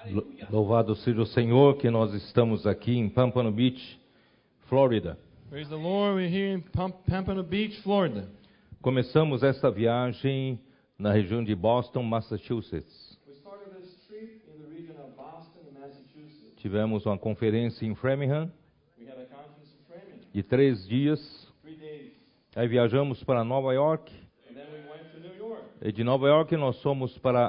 Louvado seja o Senhor que nós estamos aqui em Pompano Beach, Flórida. Praise the Lord, we're here in Pompano Beach, Florida. Começamos esta viagem na região de Boston, Massachusetts. We started this trip in the region of Boston, Massachusetts. Tivemos uma conferência em Framingham We had a conference in Framingham, de 3 dias. 3 days. Aí viajamos para Nova York. And then we went to New York. E de Nova York nós fomos para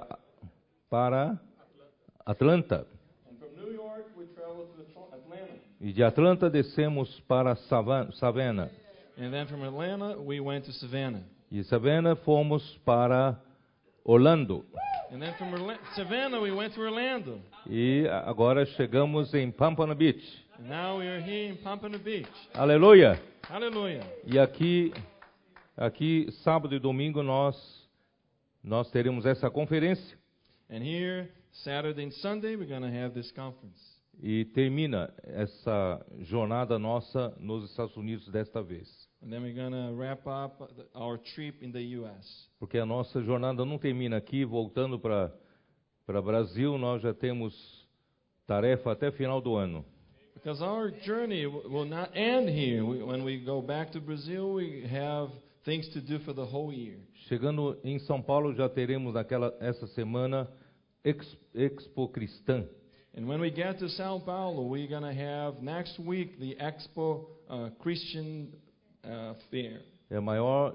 Atlanta. And from New York we traveled to Atlanta. E de Atlanta descemos para Savannah. And then from Atlanta we went to Savannah. E Savannah fomos para Orlando. And then from Savannah we went to Orlando. E agora chegamos em Pompano Beach. And now we are here in Pompano Beach. Aleluia! Hallelujah. E aqui sábado e domingo nós teremos essa conferência. And here, Saturday and Sunday, we're going to have this conference. E termina essa jornada nossa nos Estados Unidos desta vez. And then we're going to wrap up our trip in the U.S. Porque a nossa jornada não termina aqui, voltando para Brasil, nós já temos tarefa até final do ano. Because our journey will not end here. When we go back to Brazil, we have things to do for the whole year. Chegando em São Paulo, já teremos essa semana Expo Cristã. And when we get to São Paulo, we're going to have next week the Expo Christian Fair. É a maior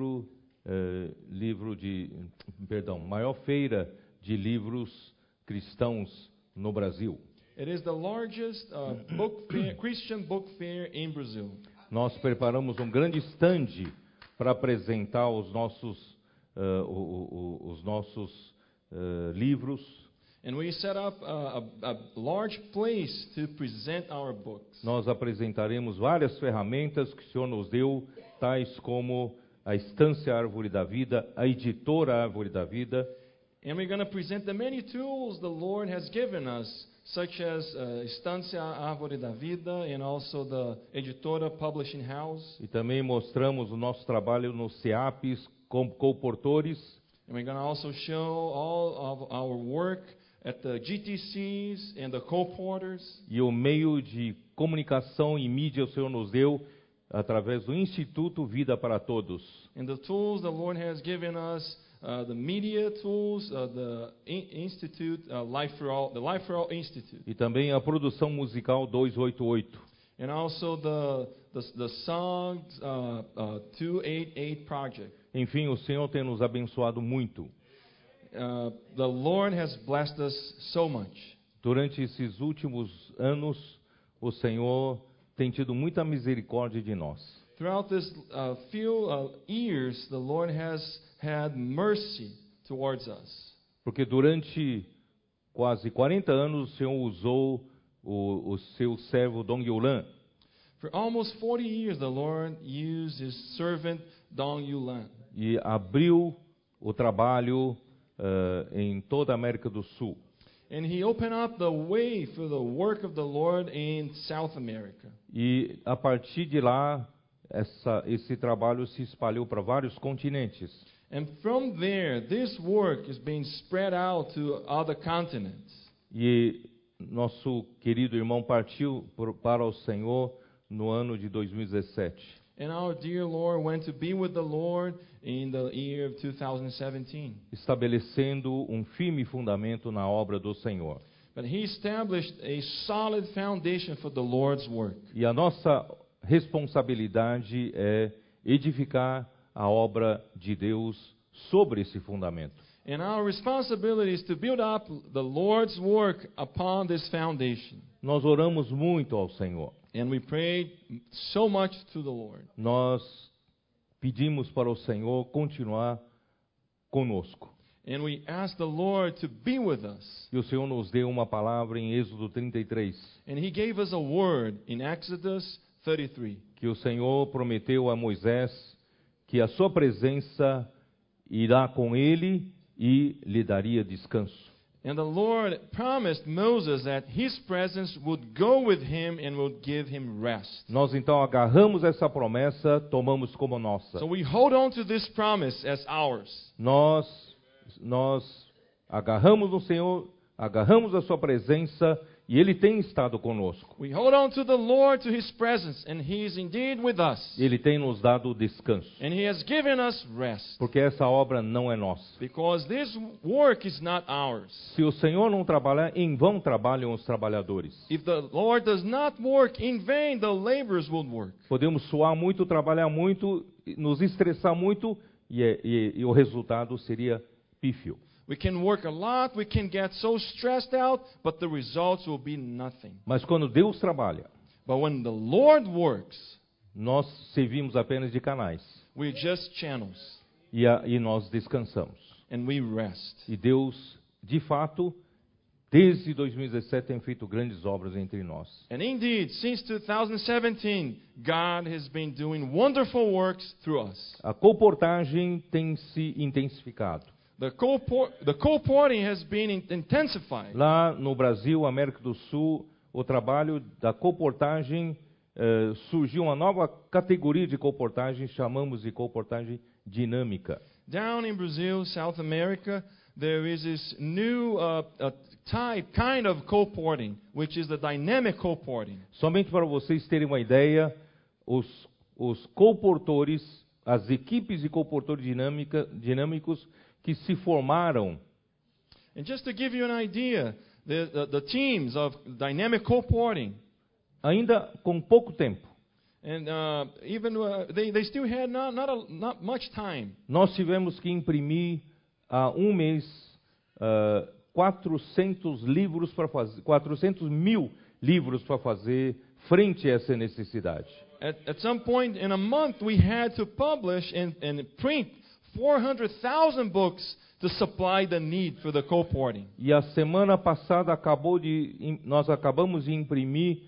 maior feira de livros cristãos no Brasil. It is the largest Christian book fair in Brazil. Nós preparamos um grande stand para apresentar os nossos livros. And we set up a large place to present our books. Nós apresentaremos várias ferramentas que o Senhor nos deu, tais como a Estância Árvore da Vida, a Editora Árvore da Vida. And we're going to present the many tools the Lord has given us, such as Estância Árvore da Vida and also the Editora Publishing House. E também mostramos o nosso trabalho nos CEAPs como coportores. And we're going to also show all of our work at the GTCs and the co-porters. E o meio de comunicação e mídia o Senhor nos deu através do Instituto Vida para Todos. And the tools the Lord has given us, the media tools, the Institute, Life for All, the Life for All Institute. E também a produção musical 288. And also the songs 288 project. Enfim, o Senhor tem nos abençoado muito. The Lord has blessed us so much. Durante esses últimos anos, o Senhor tem tido muita misericórdia de nós. Throughout this few years, the Lord has had mercy towards us. Porque durante quase 40 anos o Senhor usou o seu servo Dong Yulan. For almost 40 years, the Lord used His servant Dong Yulan. E abriu o trabalho em toda a América do Sul. And He opened up the way for the work of the Lord in South America. E a partir de lá, esse trabalho se espalhou para vários continentes. And from there, this work is being spread out to other continents. E nosso querido irmão partiu para o Senhor no ano de 2017. And our dear Lord went to be with the Lord in the year of 2017. Estabelecendo um firme fundamento na obra do Senhor. But He established a solid foundation for the Lord's work. E a nossa responsabilidade é edificar a obra de Deus sobre esse fundamento. And our responsibility is to build up the Lord's work upon this foundation. Nós oramos muito ao Senhor. And we prayed so much to the Lord. Nós pedimos para o Senhor continuar conosco. And we asked the Lord to be with us. E o Senhor nos deu uma palavra em Êxodo 33. And He gave us a word in Exodus 33. Que o Senhor prometeu a Moisés que a sua presença irá com ele e lhe daria descanso. And the Lord promised Moses that His presence would go with him and would give him rest. Nós então agarramos essa promessa, tomamos como nossa. So we hold on to this promise as ours. Nós agarramos no Senhor, agarramos a sua presença e Ele tem estado conosco. We hold on to the Lord, to His presence, and He is indeed with us. Ele tem nos dado descanso, And He has given us rest. porque essa obra não é nossa. Because this work is not ours. Se o Senhor não trabalhar, em vão trabalham os trabalhadores. If the Lord does not work, in vain the laborers will work. Podemos suar muito, trabalhar muito, nos estressar muito e o resultado seria pífio. We can work a lot, we can get so stressed out, but the results will be nothing. Mas quando Deus trabalha, But when the Lord works, nós servimos apenas de canais we're just channels, e nós descansamos. and we rest. E Deus, de fato, desde 2017 tem feito grandes obras entre nós. And indeed, since 2017, God has been doing wonderful works through us. A colportagem tem se intensificado. The colporting has been intensified. Lá no Brasil, América do Sul, o trabalho da colportagem, surgiu uma nova categoria de colportagem, chamamos de colportagem dinâmica. Down in Brazil, South America, there is this new kind of colporting, which is the dynamic colporting. Somente para vocês terem uma ideia, os colportores, as equipes de colportores dinâmicos que se formaram. And just to give you an idea, the teams of dynamic colporting, Ainda com pouco tempo, and they still had not much time. nós tivemos que imprimir há um mês 400 mil livros para fazer frente a essa necessidade. At some point in a month, we had to publish and print 400,000 books to supply the need for the colporting. E a semana passada nós acabamos de imprimir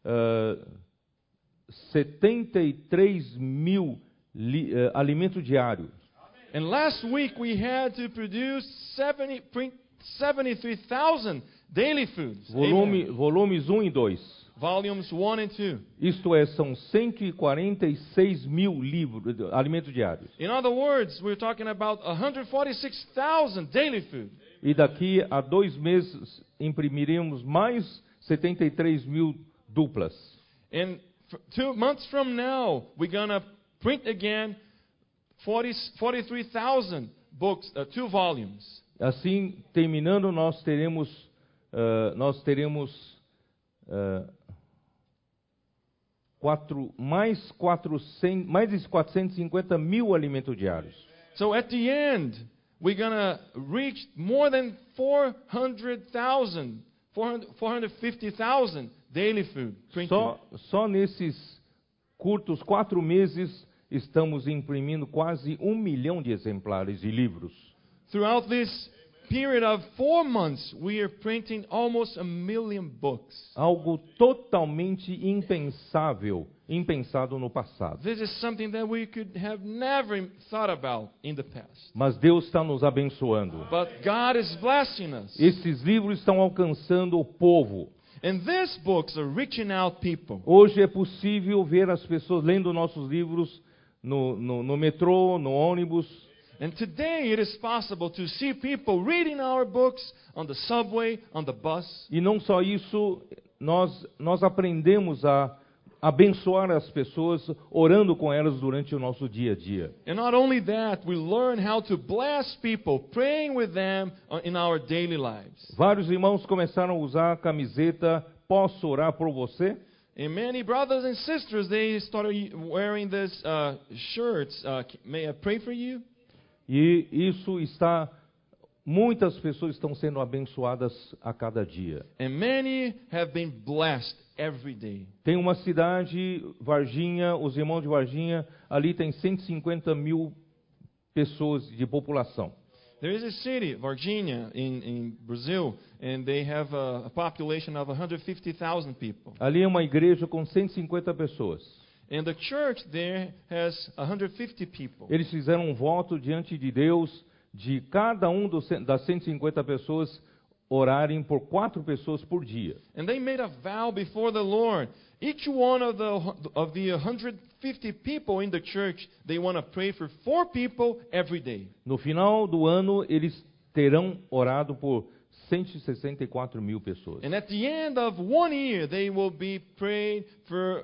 73 mil alimentos diários. And last week we had to print 73,000 daily foods. Amen. Volumes 1 e 2. Volumes 1 and 2. Isto é, são 146 mil alimentos diários. In other words, we're talking about 146,000 daily food. E daqui a 2 meses imprimiremos mais 73 mil duplas. And 2 months from now, we're going to print again 43,000 books, 2 volumes. Assim, terminando, nós teremos mais de 450 mil alimentos diários. So at the end, we're going to reach more than 450,000 daily food printed. Só nesses curtos 4 meses estamos imprimindo quase 1 milhão de exemplares de livros. Throughout this period of 4 months, we are printing almost 1 million books. Algo totalmente impensado no passado. This is something that we could have never thought about in the past. Mas Deus está nos abençoando. But God is blessing us. Esses livros estão alcançando o povo. And these books are reaching out people. Hoje é possível ver as pessoas lendo nossos livros no metrô, no ônibus. And today it is possible to see people reading our books on the subway, on the bus. E não só isso, nós aprendemos a abençoar as pessoas orando com elas durante o nosso dia a dia. And not only that, we learn how to bless people, praying with them in our daily lives. Vários irmãos começaram a usar a camiseta "Posso orar por você?" And many brothers and sisters, they started wearing these shirts. May I pray for you? E muitas pessoas estão sendo abençoadas a cada dia. And many have been blessed every day. Tem uma cidade, Varginha, os irmãos de Varginha, ali tem 150 mil pessoas de população. There is a city, Varginha, in Brazil, and they have a population of 150,000 people. Ali é uma igreja com 150 pessoas. And the church there has 150 people. Eles fizeram um voto diante de Deus de cada das 150 pessoas orarem por 4 pessoas por dia. And they made a vow before the Lord. Each one of the 150 people in the church, they want to pray for 4 people every day. No final do ano, eles terão orado por 164 mil pessoas. And at the end of 1 year, they will be praying for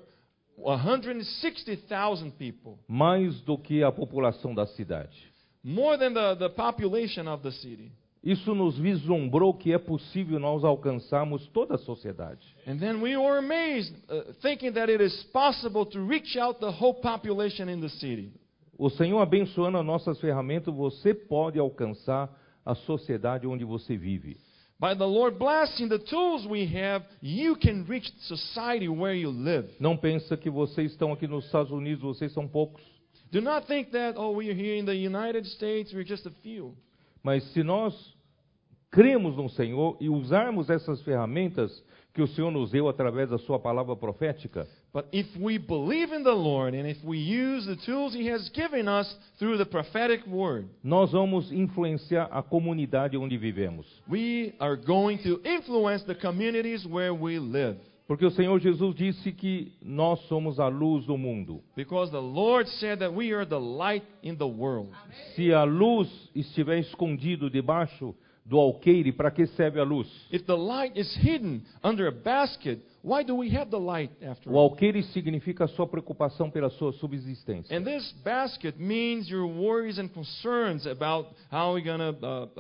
160,000 people. Mais do que a população da cidade. More than the population of the city. Isso nos vislumbrou que é possível nós alcançarmos toda a sociedade. And then we were amazed, thinking that it is possible to reach out the whole population in the city. O Senhor abençoando as nossas ferramentas, você pode alcançar a sociedade onde você vive. By the Lord blessing the tools we have, you can reach society where you live. Não pensa que vocês estão aqui nos Estados Unidos, vocês são poucos. Do not think that, we are here in the United States, we're just a few. Mas se nós cremos no Senhor e usarmos essas ferramentas que o Senhor nos deu através da sua palavra profética, But if we believe in the Lord and if we use the tools He has given us through the prophetic word, nós vamos influenciar a comunidade onde vivemos. we are going to influence the communities where we live. Porque o Senhor Jesus disse que nós somos a luz do mundo. Because the Lord said that we are the light in the world. Se a luz estiver escondido debaixo do alqueire, para que serve a luz? If the light is hidden under a basket, why do we have the light after O all? alqueire significa a sua preocupação pela sua subsistência. And this basket means your worries and concerns about how you're going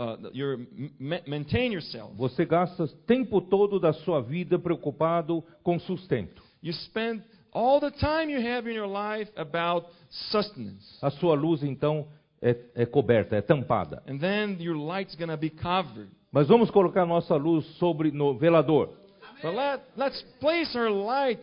to maintain yourself. Você gasta o tempo todo da sua vida preocupado com sustento. You spend all the time you have in your life about sustenance. A sua luz, então, é coberta, é tampada. And then your light's going to be covered. Mas vamos colocar nossa luz no velador. But let's place our light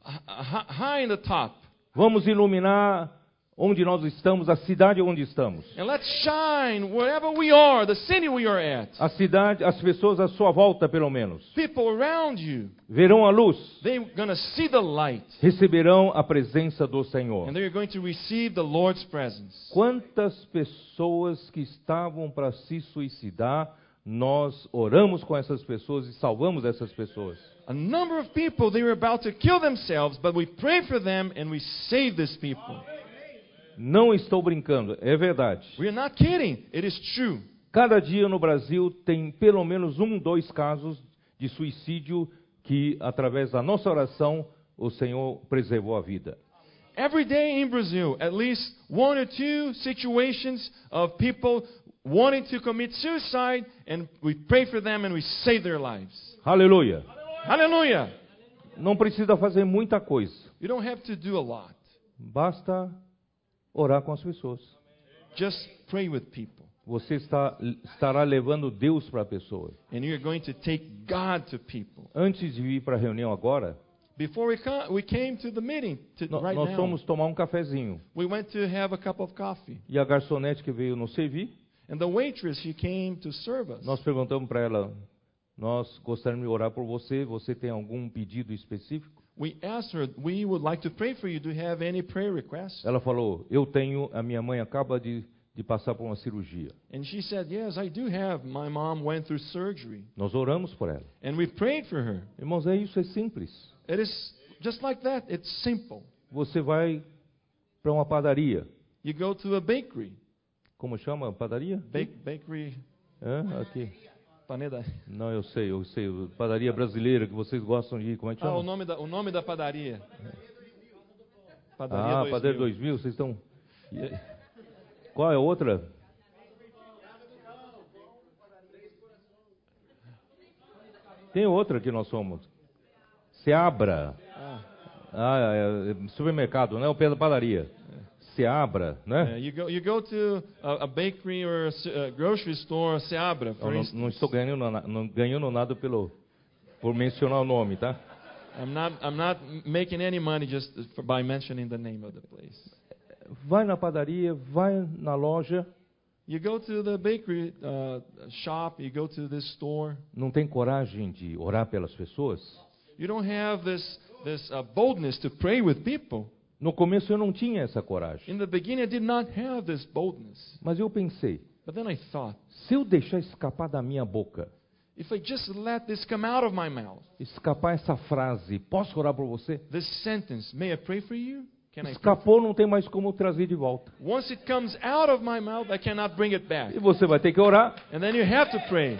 high in the top. Vamos iluminar onde nós estamos, a cidade onde estamos. And let's shine wherever we are, the city we are at. A cidade, as pessoas à sua volta, pelo menos, People around you, verão a luz, they're going to see the light. receberão a presença do Senhor. And they're going to receive the Lord's presence. Quantas pessoas que estavam para se suicidar, nós oramos com essas pessoas e salvamos essas pessoas. A number of people, they were about to kill themselves, but we pray for them and we save these people. Não estou brincando, é verdade. We are not kidding. It is true. Cada dia no Brasil tem pelo menos 2 casos de suicídio que, através da nossa oração, o Senhor preservou a vida. Every day in Brazil, at least 1 or 2 situations of people wanting to commit suicide, and we pray for them and we save their lives. Aleluia! Hallelujah! Não precisa fazer muita coisa. You don't have to do a lot. Basta orar com as pessoas. Just pray with people. Você estará levando Deus para a pessoa. And you're going to take God to people. Antes de ir para a reunião agora, Before we came to the meeting right nós now, fomos tomar um cafezinho. we went to have a cup of coffee. E a garçonete que veio nos servir, And the waitress, she came to serve us. nós perguntamos para ela, nós gostaríamos de orar por você, você tem algum pedido específico? We asked her, we would like to pray for you. Do you have any prayer requests? Ela falou, eu tenho, a minha mãe acaba de passar por uma cirurgia. And she said, yes, I do have. My mom went through surgery. Nós oramos por ela. And we prayed for her. Irmãos, é isso, é simples. It is just like that. It's simple. Você vai para uma padaria. You go to a bakery. Como chama a padaria? Bakery. Aqui. Paneda. Não, eu sei. Padaria brasileira que vocês gostam de ir. Como é que chama? O nome da padaria. Padaria 2000. Padaria 2000, vocês estão... Qual é a outra? Tem outra que nós somos. Seabra. Supermercado, né? O pé da padaria. Seabra, né? You go to a bakery or a grocery store, Seabra, for instance. Não estou ganhando nada por mencionar o nome, tá? I'm not making any money just by mentioning the name of the place. Vai na padaria, vai na loja. You go to the bakery shop, you go to this store. Não tem coragem de orar pelas pessoas? You don't have this boldness to pray with people. No começo eu não tinha essa coragem. In the beginning, I did not have this boldness. Mas eu pensei, But then I thought, se eu deixar escapar da minha boca, if I just let this come out of my mouth, escapar essa frase, posso orar por você? this sentence, may I pray for you? Escapou, não tem mais como trazer de volta. Once it comes out of my mouth, I cannot bring it back. E você vai ter que orar. And then you have to pray.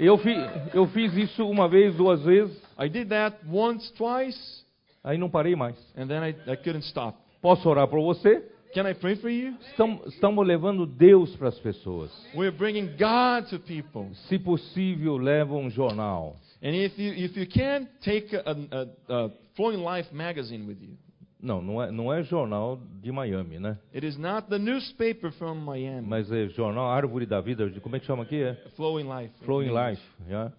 Eu fiz isso uma vez, 2 vezes. I did that once, twice, Aí não parei mais. and then I couldn't stop. Posso orar por você? Can I pray for you? Estamos levando Deus para as pessoas. We're bringing God to people. Se possível, leva um jornal. And if you can, take a Flowing Life magazine with you. Não é jornal de Miami, né? It is not the newspaper from Miami. Mas é jornal Árvore da Vida. Como é que chama aqui? Flowing Life. Flowing Life. Yeah.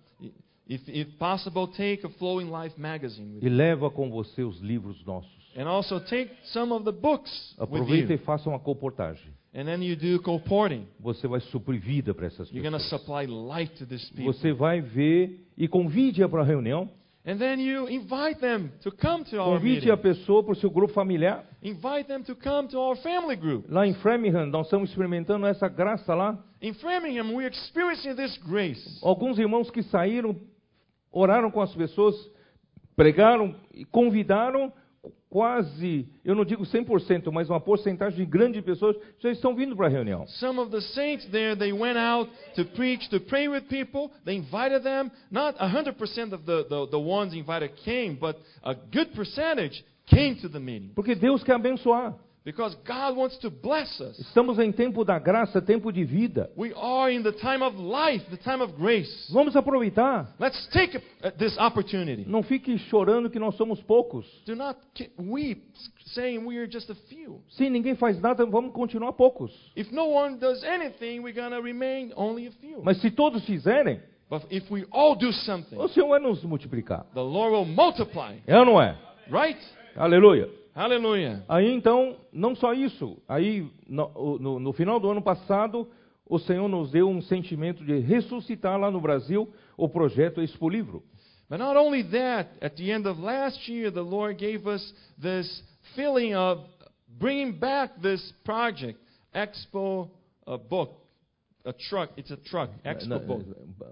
If possible, take a Flowing Life magazine with E you. leva com você os livros nossos. And also take some of the books with Aproveita you. e faça uma comportagem. And then you do colporting. Você vai suprir vida para essas You're going to pessoas. supply life to these people. Você vai ver e convide-a para a reunião. And then you invite them to come to our Convide meeting. a pessoa para o seu grupo familiar. Invite them to come to our family group. Lá em Framingham, nós estamos experimentando essa graça lá. In Framingham, we're experiencing this grace. Alguns irmãos que saíram, oraram com as pessoas, pregaram e convidaram quase, eu não digo 100%, mas uma porcentagem grande de pessoas já estão vindo para a reunião. Some of the saints there, they went out to preach, to pray with people. They invited them. Not 100% of the ones invited came, but a good percentage came to the meeting. Porque Deus quer abençoar. Because God wants to bless us. Estamos em tempo da graça, tempo de vida. We are in the time of life, the time of grace. Vamos aproveitar. Let's take this opportunity. Não fique chorando que nós somos poucos. Do not weep, saying we are just a few. Se ninguém faz nada, vamos continuar poucos. If no one does anything, we're going to remain only a few. Mas se todos fizerem, But if we all do something, o Senhor vai nos multiplicar. the Lord will multiply. É ou não é? Right? Aleluia. Hallelujah. Aí então, não só isso. Aí, no final do ano passado, o Senhor nos deu um sentimento de ressuscitar lá no Brasil o projeto Expo Livro. But not only that, at the end of last year, the Lord gave us this feeling of bringing back this project, Expo Book, a truck. It's a truck, Expo Book.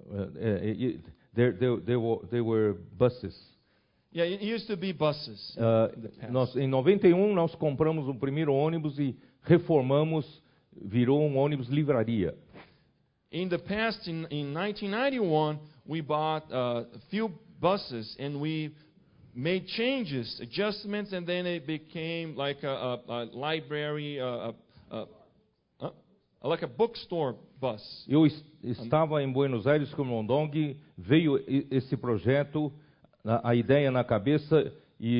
There were buses. Yeah, it used to be buses. in the past. Em 91, nós compramos o primeiro ônibus e reformamos, virou um ônibus livraria. In the past, in 1991, we bought a few buses and we made changes, adjustments, and then it became like a library, like a bookstore bus. Eu estava em Buenos Aires com o Mondong, veio esse projeto, a ideia na cabeça,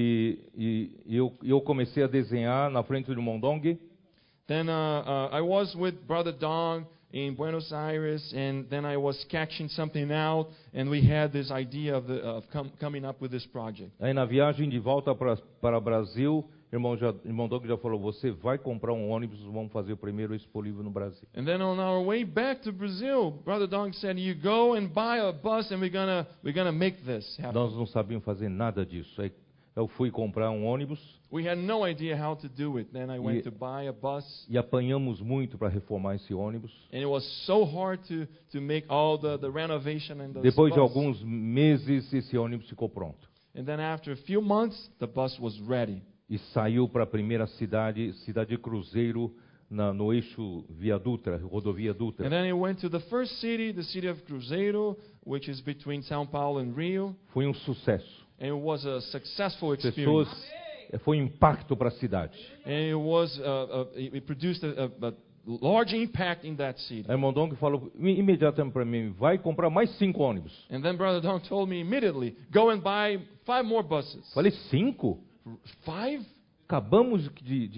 e eu comecei a desenhar na frente do Mondong. Then I was with Brother Dong in Buenos Aires, and then I was sketching something out, and we had this idea of coming up with this project. Aí na viagem de volta para Brasil, irmão Doug já falou, você vai comprar um ônibus, vamos fazer o primeiro Expo Livro no Brasil. And then on our way back to Brazil, Brother Dong said, "You go and buy a bus, and we're gonna make this happen." Nós não sabíamos fazer nada disso. Aí eu fui comprar um ônibus We had no idea how to do it. Then I went to buy a bus, e apanhamos muito para reformar esse ônibus. and it was so hard to make all the renovation and the Depois de bus. alguns meses, esse ônibus ficou pronto. And then after a few months, the bus was ready. E saiu para a primeira cidade de Cruzeiro, no eixo Via Dutra, rodovia Dutra. And then it went to the first city, the city of Cruzeiro, which is between São Paulo and Rio. Foi um sucesso. And it was a successful Pessoas, experience. foi um impacto para a cidade. And it produced a large impact in that city. Aí o irmão Dong falou imediatamente para mim, vai comprar mais 5 ônibus. And then Brother Dong told me immediately, go and buy 5 more buses. Falei, 5? 5? Acabamos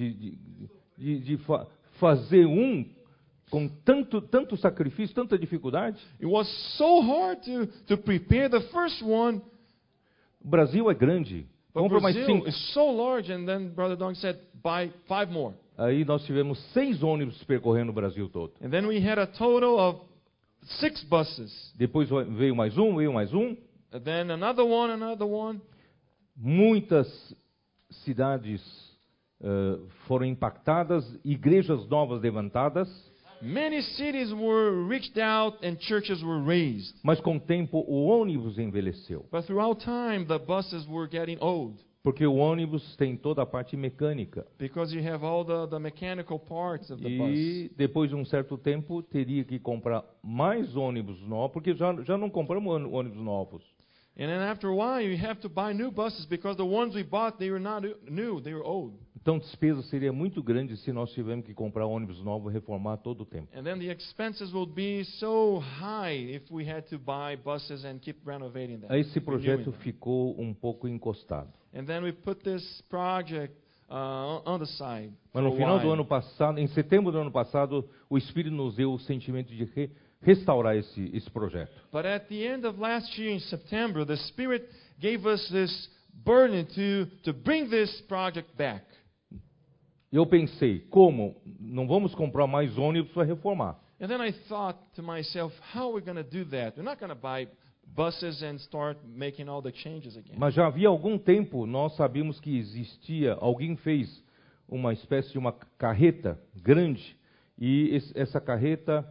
de fazer um com tanto sacrifício, tanta dificuldade. It was so hard to prepare the first one. O Brasil é grande. But Compra mais Brazil 5. is so large, and then Brother Dong said, buy 5 more. Aí nós tivemos 6 ônibus percorrendo o Brasil todo. And then we had a total of 6 buses. Depois veio mais um. And then another one. Muitas cidades foram impactadas, igrejas novas levantadas. Many cities were reached out and churches were raised. Mas com o tempo o ônibus envelheceu. But throughout time, the buses were getting old. Porque o ônibus tem toda a parte mecânica. Because you have all the mechanical parts of the bus. E depois de um certo tempo teria que comprar mais ônibus novos, porque já não compramos ônibus novos. And then after a while, you have to buy new buses because the ones we bought, they were not new, they were old. Então a despesa seria muito grande se nós tivermos que comprar ônibus novo e reformar todo o tempo. And then the expenses will be so high if we had to buy buses and keep renovating them. Esse projeto renewing them. ficou um pouco encostado. And then we put this project on the side. Mas no for a final do while. ano passado, em setembro do ano passado, o Espírito nos deu o sentimento de restaurar esse projeto. But at the end of last year in September, the Spirit gave us this burden to bring this project back. Eu pensei, como não vamos comprar mais ônibus para reformar? And then I thought to myself, how are we going to do that? We're not going to buy buses and start making all the changes again. Mas já havia algum tempo nós sabíamos que existia, alguém fez uma espécie de uma carreta grande e essa carreta,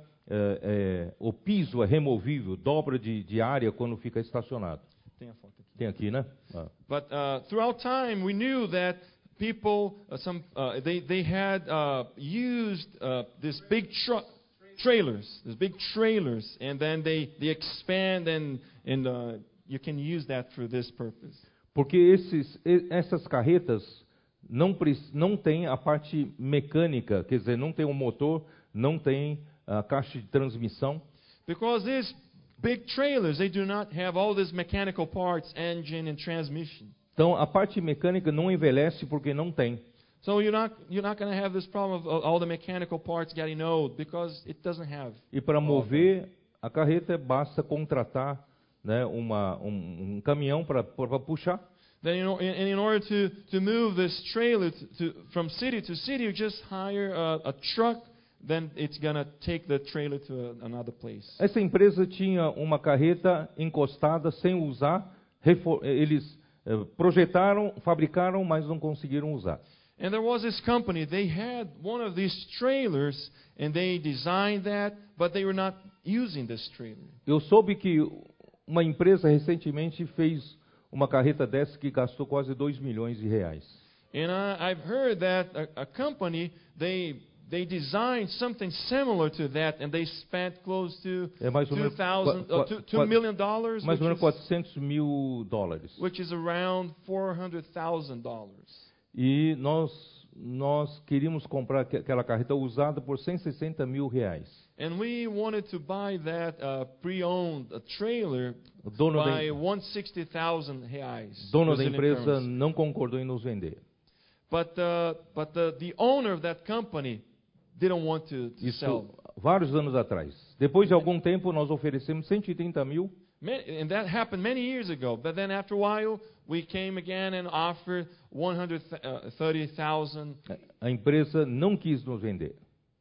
o piso é removível, dobra de área quando fica estacionado. Tem a foto aqui. Tem aqui, né? Ah. But throughout time, we knew that people, they had used these big trailers, and then they expand and you can use that for this purpose. Porque essas carretas não têm a parte mecânica, quer dizer, não tem o motor, não tem a caixa de transmissão. Because these big trailers, they do not have all these mechanical parts, engine and transmission. Então a parte mecânica não envelhece porque não tem. So you're not going to have this problem of all the mechanical parts getting old because it doesn't have. E para mover a carreta basta contratar, né, um caminhão para puxar. Then in order to move this trailer from city to city, you just hire a truck. Then it's going to take the trailer to another place. Essa empresa tinha uma carreta encostada sem usar. Eles projetaram, fabricaram, mas não conseguiram usar. And there was this company, they had one of these trailers and they designed that, but they were not using this trailer. Eu soube que uma empresa recentemente fez uma carreta dessa que gastou quase 2 milhões de reais. And I've heard that a company, they designed something similar to that and they spent close to mais ou menos $2 million, mais ou menos $400 mil, which is around $400,000. E nós queríamos comprar aquela carreta usada por 160 mil reais. And we wanted to buy that pre-owned trailer by 160,000 reais. Dono da empresa não concordou em nos vender. But the owner of that company didn't want to sell. Vários anos atrás. Depois de algum tempo nós oferecemos 130 mil. And that happened many years ago. But then after a while, we came again and offered 130,000. A empresa não quis nos vender.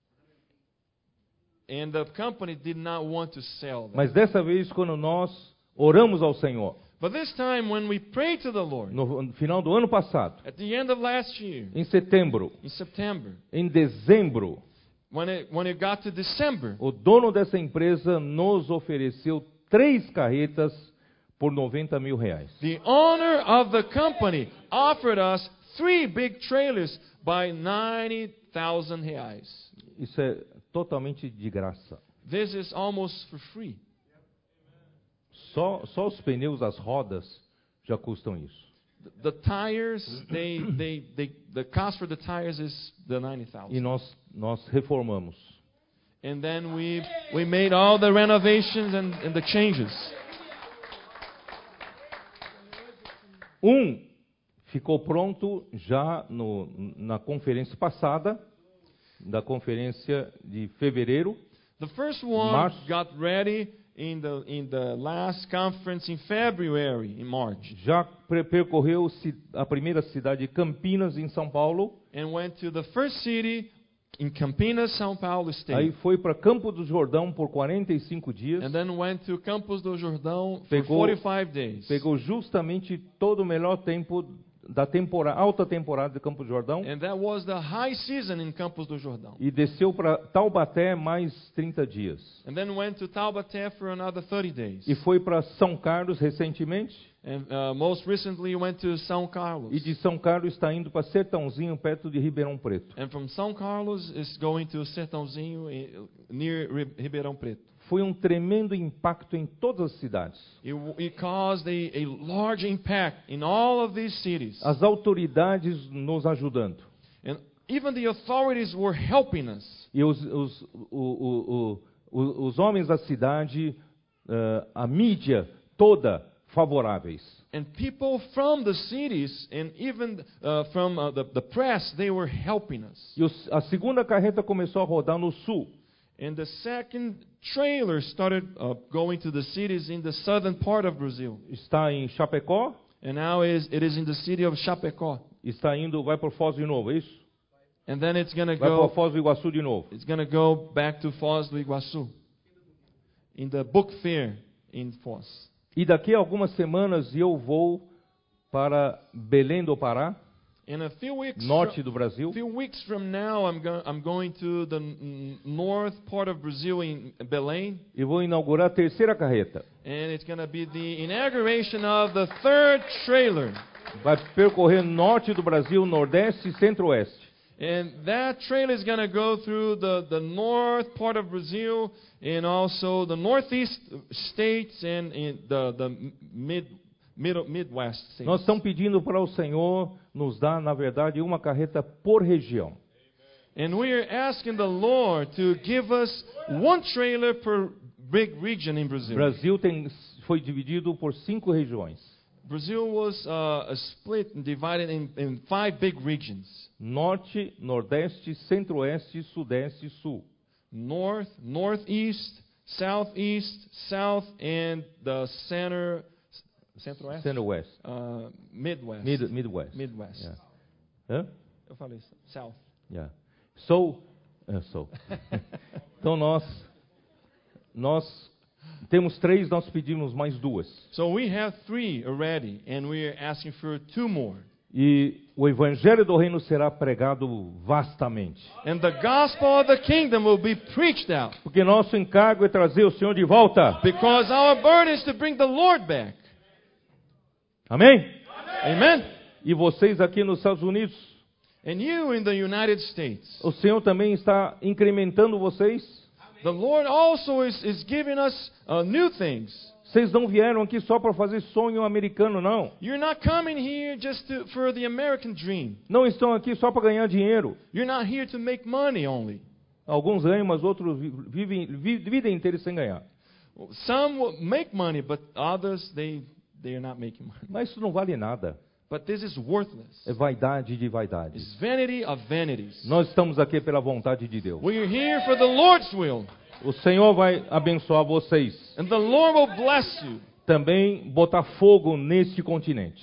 And the company did not want to sell that. Mas dessa vez, quando nós oramos ao Senhor, but this time, when we prayed to the Lord, no final do ano passado, at the end of last year, em setembro, in September, em dezembro, when it got to December, o dono dessa empresa nos ofereceu 3 carretas por 90 mil reais. The owner of the company offered us 3 big trailers by 90,000 reais. Isso é totalmente de graça. This is almost for free. Só os pneus, as rodas já custam isso. The tires, the cost for the tires is the 90,000. E nós reformamos. And then we made all the renovations and the changes. Ficou pronto já na conferência passada, da conferência de fevereiro. The first one got ready in the last conference in February, in March. Já percorreu a primeira cidade, Campinas, em São Paulo. And went to the first city in Campinas, São Paulo State. Aí foi para Campos do Jordão por 45 dias. And then went to Campos do Jordão for 45 days. Pegou justamente todo o melhor tempo da alta temporada de Campos do Jordão. And that was the high season in Campos do Jordão. E desceu para Taubaté mais 30 dias. And then went to Taubaté for another 30 days. E foi para São Carlos recentemente. And most recently went to São Carlos. E de São Carlos está indo para Sertãozinho, perto de Ribeirão Preto. And from São Carlos is going to Sertãozinho near Ribeirão Preto. Foi um tremendo impacto em todas as cidades. It caused a large impact in all of these cities. As autoridades nos ajudando. And even the authorities were helping us. E os homens da cidade, a mídia toda favoráveis. And people from the cities and even from the press, they were helping us. E a segunda carreta começou a rodar no sul. And the second trailer started going to the cities in the southern part of Brazil. Está em Chapecó. And now it is in the city of Chapecó. Está indo, vai para Foz de novo, é isso? And then it's going to Vai go. para Foz do Iguaçu de novo. It's going to go back to Foz do Iguaçu. In the book fair in Foz. E daqui a algumas semanas eu vou para Belém do Pará, In a few weeks. norte do Brasil. A few weeks from now, I'm going to the north part of Brazil in Belém. E vou inaugurar a terceira carreta. And it's going to be the inauguration of the third trailer. Vai percorrer norte do Brasil, nordeste e centro-oeste. And that trailer is going to go through the north part of Brazil and also the northeast states and in the Midwest states. Nós estamos pedindo para o Senhor nos dar, na verdade, uma carreta por região. And we are asking the Lord to give us one trailer per big region in O Brazil. Brasil foi dividido por 5 regiões. Brazil was split and divided in 5 big regions. Norte, nordeste, centro-oeste, sudeste e sul. North, northeast, southeast, south, and the centro-west? Centro-oeste. Midwest. Midwest. Midwest. Yeah. Hã? Eu falei south. Yeah. Então nós temos 3, nós pedimos mais 2. So we have 3 already, and we are asking for 2 more. E o evangelho do reino será pregado vastamente. And the gospel of the kingdom will be preached out. Porque nosso encargo é trazer o Senhor de volta. Because our burden is to bring the Lord back. Amém? Amen. E vocês aqui nos Estados Unidos, And you in the United States. o Senhor também está incrementando vocês. The Lord also is giving us new things. Vocês não vieram aqui só para fazer sonho americano, não. You're not coming here just for the American dream. Não estão aqui só para ganhar dinheiro. You're not here to make money only. Alguns ganham, mas outros vivem vida inteira sem ganhar. Some will make money, but others they are not making money. Mas isso não vale nada. But this is worthless. É vaidade de vaidades. It's vanity of vanities. Nós estamos aqui pela vontade de Deus. We are here for the Lord's will. O Senhor vai abençoar vocês. And the Lord will bless you. Também botar fogo neste continente.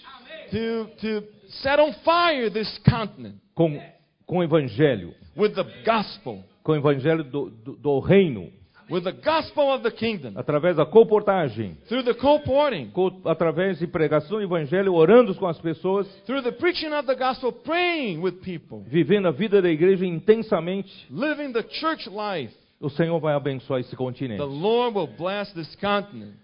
To set on fire this continent. Com o evangelho. With the gospel. Com o evangelho do reino. With the gospel of the kingdom. Através da colportagem. Through the colporting. Através de pregação do evangelho, orando com as pessoas. Through the preaching of the gospel, praying with people. Vivendo a vida da igreja intensamente. Living the church life. O Senhor vai abençoar esse continente. The Lord will bless this continent.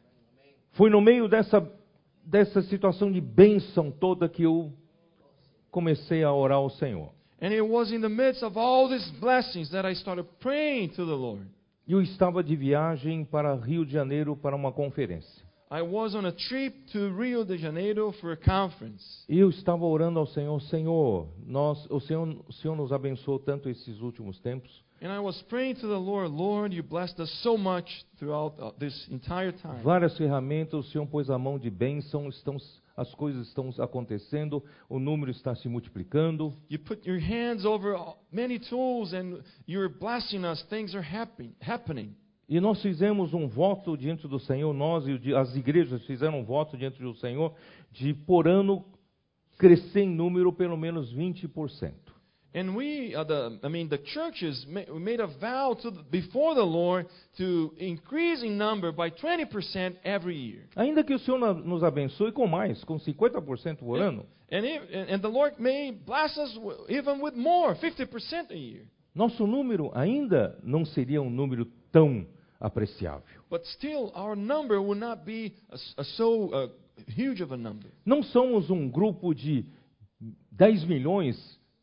Foi no meio dessa situação de bênção toda que eu comecei a orar ao Senhor. And it was in the midst of all these blessings that I started praying to the Lord. Eu estava de viagem para Rio de Janeiro para uma conferência. I was on a trip to Rio de Janeiro for a conference. E eu estava orando ao Senhor, Senhor, o Senhor nos abençoou tanto esses últimos tempos. And I was praying to the Lord, Lord, you blessed us so much throughout this entire time. Várias ferramentas, o Senhor pôs a mão de bênção, as coisas estão acontecendo, o número está se multiplicando. You put your hands over many tools and you're blessing us. Things are happening. E nós fizemos um voto diante do Senhor, nós e as igrejas fizeram um voto diante do Senhor de por ano crescer em número pelo menos 20%. And the churches made a vow before the Lord to increase in number by 20% every year. Ainda que o Senhor nos abençoe com mais, com 50% por ano, And the Lord may bless us even with more, 50% a year. nosso número ainda não seria um número tão apreciável. But still, our number will not be so huge of a number. Não somos um grupo de 10 milhões,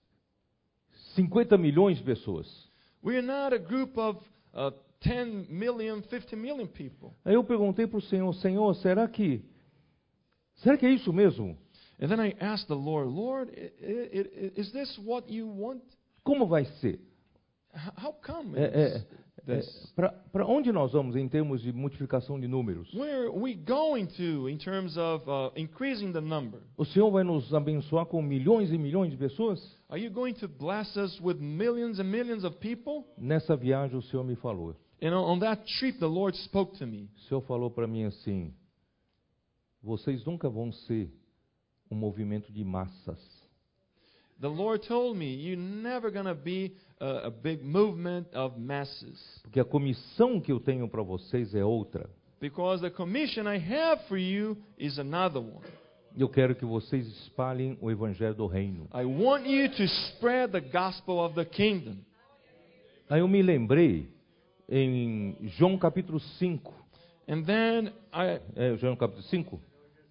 50 milhões de pessoas. We are not a group of 10 million, 50 million people. Aí eu perguntei para o Senhor, Senhor, será que é isso mesmo? And then I asked the Lord, is this what you want? Como vai ser? How come? Para onde nós vamos em termos de multiplicação de números? Where are we going to in terms of increasing the number? O Senhor vai nos abençoar com milhões e milhões de pessoas? Are you going to bless us with millions and millions of people? Nessa viagem o Senhor me falou. And on that trip, the Lord spoke to me. O Senhor falou para mim assim: vocês nunca vão ser um movimento de massas. The Lord told me, you're never going to be a big movement of masses. Porque a comissão que eu tenho para vocês é outra. Because the commission I have for you is another one. Eu quero que vocês espalhem o evangelho do reino. I want you to spread the gospel of the kingdom. Aí eu me lembrei em João capítulo 5. And then João capítulo 5?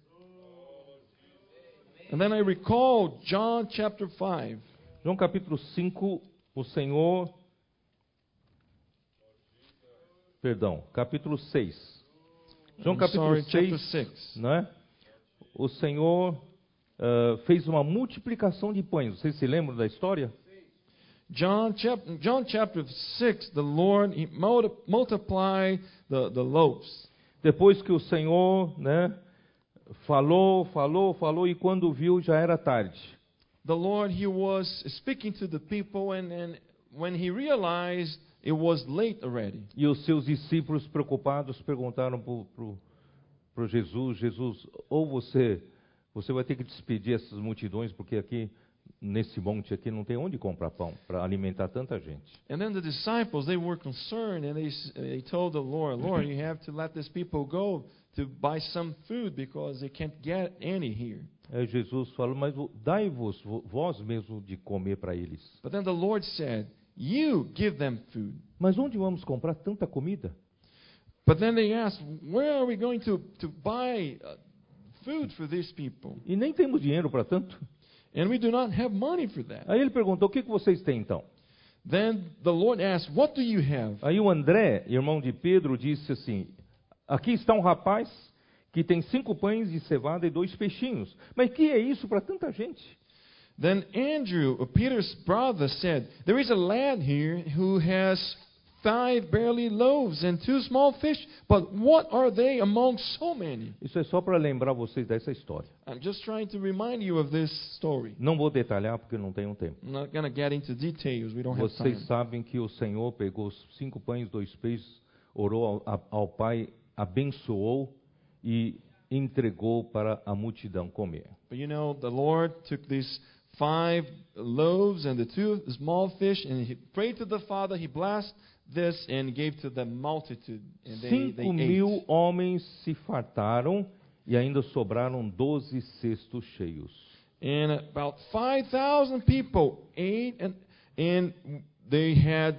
And then I recall John chapter 5. João capítulo 5, o Senhor... Perdão, capítulo 6. João capítulo 6, né? O Senhor fez uma multiplicação de pães. Vocês se lembram da história? John chapter 6, the Lord he multiplied the loaves. Depois que o Senhor, né, falou, e quando viu já era tarde. The Lord, he was speaking to the people, and when he realized it was late already. E os seus discípulos preocupados perguntaram para Jesus, ou você vai ter que despedir essas multidões, porque aqui nesse monte aqui não tem onde comprar pão para alimentar tanta gente. And then the disciples, they were concerned, and they told the Lord, you have to let these people go to buy some food because they can't get any here. Aí Jesus falou, mas dai-vos vós mesmo de comer para eles. But then the Lord said, you give them food. Mas onde vamos comprar tanta comida? But then they asked, where are we going to buy food for these people? E nem temos dinheiro para tanto. And we do not have money for that. Aí ele perguntou, o que vocês têm então? Then the Lord asked, what do you have? Aí o André, irmão de Pedro, disse assim, aqui está um rapaz que tem 5 pães de cevada e 2 peixinhos. Mas que é isso para tanta gente? Then Andrew, Peter's brother, said, there is a lad here who has 5 barley loaves and 2 small fish, but what are they among so many? Isso é só para lembrar vocês dessa história. I'm just trying to remind you of this story. Não vou detalhar porque não tenho tempo. I'm not going to get into details. We don't have time. Vocês sabem que o Senhor pegou os 5 pães, 2 peixes, orou ao Pai, abençoou e entregou para a multidão comer. But you know, the Lord took these 5 loaves and the 2 small fish, and he prayed to the Father. He blessed this and gave to the multitude. And they 5.000 ate. homens se fartaram e ainda sobraram 12 cestos cheios. And about 5,000 people ate, and they had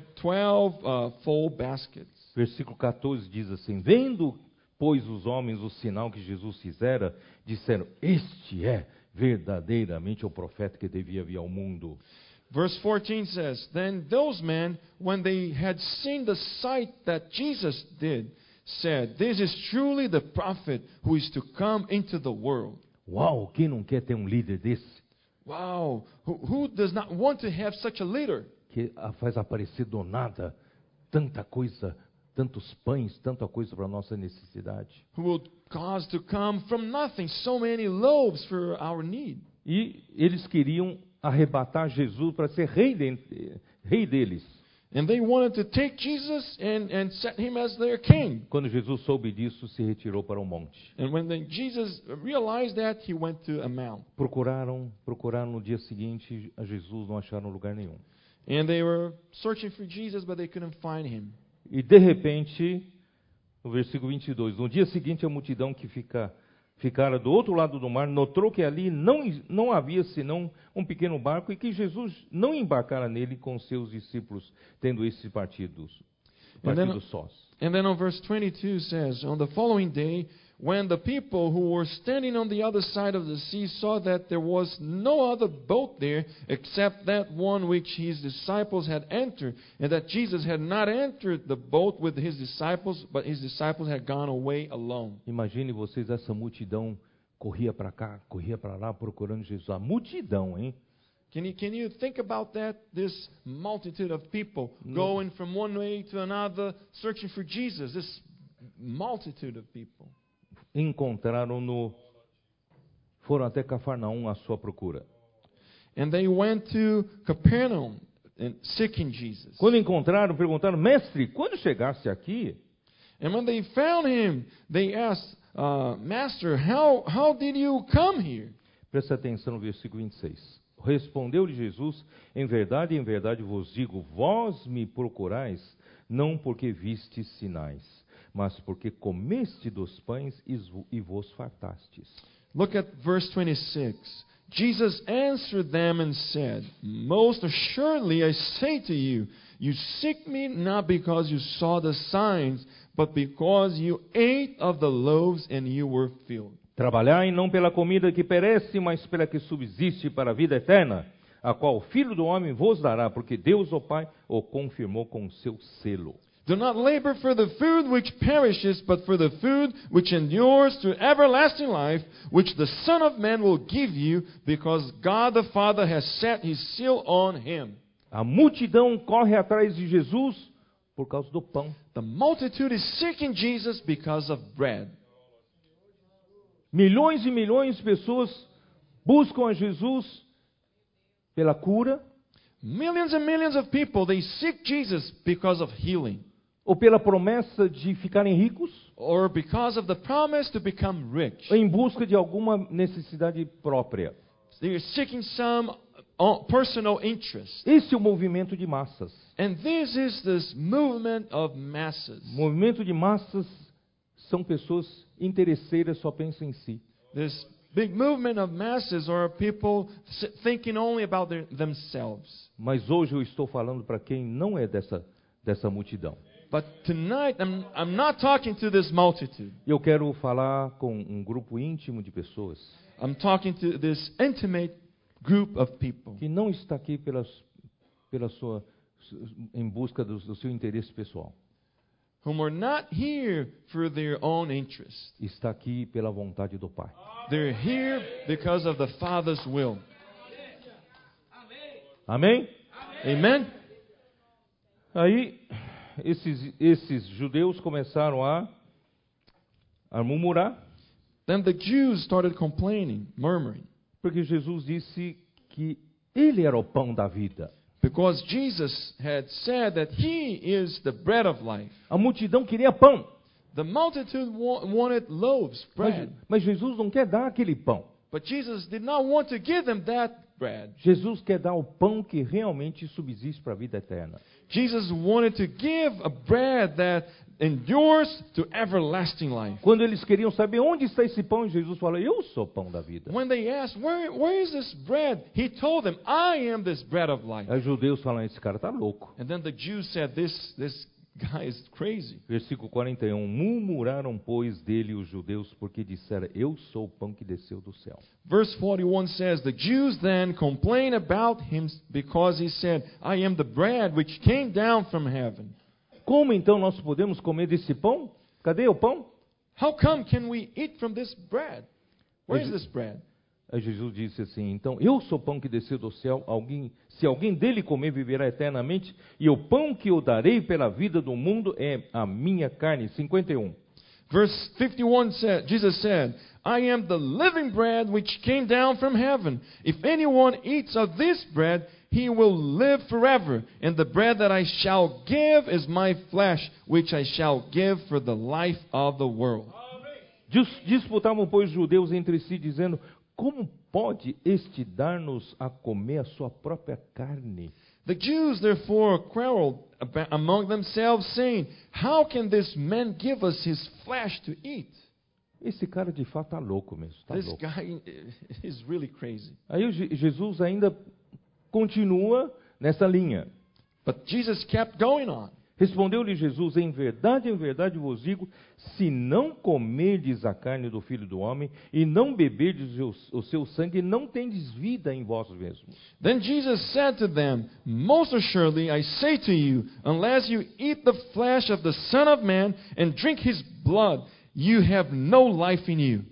12 full baskets. Versículo 14 diz assim, vendo, pois, os homens o sinal que Jesus fizera, disseram, este é verdadeiramente o profeta que devia vir ao mundo. Verse 14 says, then those men, when they had seen the sight that Jesus did, said, this is truly the prophet who is to come into the world. Uau, quem não quer ter um líder desse? Wow, who does not want to have such a leader? Que faz aparecer do nada tanta coisa, tantos pães, tanta coisa para a nossa necessidade. Who will cause to come from nothing so many loaves for our need. E eles queriam arrebatar Jesus para ser rei deles. And they wanted to take Jesus and set him as their king. Quando Jesus soube disso, se retirou para o monte. And when Jesus realized that, he went to a mount. Procuraram no dia seguinte a Jesus, não acharam lugar nenhum. And they were searching for Jesus, but they couldn't find him. E de repente, no versículo 22, no dia seguinte a multidão que ficara do outro lado do mar notou que ali não havia senão um pequeno barco e que Jesus não embarcara nele com seus discípulos, tendo esses partidos sós. And then on verse 22 says, on the following day, when the people who were standing on the other side of the sea saw that there was no other boat there except that one which his disciples had entered, and that Jesus had not entered the boat with his disciples, but his disciples had gone away alone. Imagine vocês, essa multidão corria para cá, corria para lá procurando Jesus. A multidão, hein? Can you think about that? This multitude of people going from one way to another, searching for Jesus. This multitude of people. Foram até Cafarnaum à sua procura. And they went to Capernaum and seeking Jesus. Quando encontraram, perguntaram: Mestre, quando chegaste aqui? And when they found him, they asked, Master, how did you come here? Presta atenção no versículo 26. Respondeu-lhe Jesus: em verdade vos digo, vós me procurais, não porque vistes sinais, mas porque comeste dos pães e vos fartastes. Look at verse 26. Jesus answered them and said, Most assuredly I say to you, you seek me not because you saw the signs, but because you ate of the loaves and you were filled. Trabalhai não pela comida que perece, mas pela que subsiste para a vida eterna, a qual o Filho do Homem vos dará, porque Deus, o Pai, o confirmou com seu selo. Do not labor for the food which perishes, but for the food which endures to everlasting life, which the Son of Man will give you, because God the Father has set his seal on him. A multidão corre atrás de Jesus por causa do pão. The multitude is seeking Jesus because of bread. Milhões e milhões de pessoas buscam a Jesus pela cura. Millions and millions of people, they seek Jesus because of healing. Ou pela promessa de ficarem ricos. Or because of the promise to become rich. Ou em busca de alguma necessidade própria. They are seeking some personal interest. Esse é o movimento de massas. And this movement of masses. Movimento de massas são pessoas interesseiras, só pensam em si. This big movement of masses are people thinking only about themselves. Mas hoje eu estou falando para quem não é dessa multidão. But tonight I'm not talking to this multitude. Eu quero falar com um grupo íntimo de pessoas. I'm talking to this intimate group of people. Que não está aqui em busca do seu interesse pessoal. Whom are not here for their own interest. Está aqui pela vontade do Pai. They're here because of the Father's will. Amém? Amen? Aí, esses judeus começaram a murmurar. Then the Jews started complaining, murmuring. Porque Jesus disse que Ele era o pão da vida. Because Jesus had said that He is the bread of life. A multidão queria pão. The multitude wanted loaves, bread. Mas Jesus não quer dar aquele pão. But Jesus did not want to give them that bread. Jesus quer dar o pão que realmente subsiste para a vida eterna. Jesus wanted to give a bread that endures to everlasting life. Quando eles queriam saber onde está esse pão, Jesus falou: Eu sou o pão da vida. When they asked, where is this bread? He told them, I am this bread of life. Os judeus falaram: Esse cara está louco. And then the Jews said, this guy is crazy. Versículo 41. Murmuraram, pois, dele os judeus, porque disseram: Eu sou o pão que desceu do céu. Verse 41 says, The Jews then complained about him because he said, I am the bread which came down from heaven. Como então nós podemos comer desse pão? Cadê o pão? How come can we eat from this bread? Where is this bread? Aí Jesus disse assim: Então, eu sou o pão que desceu do céu. Se alguém dele comer, viverá eternamente. E o pão que eu darei pela vida do mundo é a minha carne. 51. Verse 51 said, Jesus said, I am the living bread which came down from heaven. If anyone eats of this bread, he will live forever. And the bread that I shall give is my flesh, which I shall give for the life of the world. Disputavam, pois, os judeus entre si, dizendo: como pode este dar-nos a comer a sua própria carne? The Jews therefore quarreled among themselves, saying, how can this man give us his flesh to eat? Esse cara de fato está louco mesmo. Tá This louco. guy is really crazy. Aí Jesus ainda continua nessa linha. But Jesus kept going on. Respondeu-lhe Jesus: em verdade vos digo, se não comerdes a carne do Filho do Homem e não beberdes o seu sangue, não tendes vida em vós mesmos. Then Jesus said to them, most assuredly I say to you, unless you eat the flesh of the Son of Man and drink his blood, you have no life in you.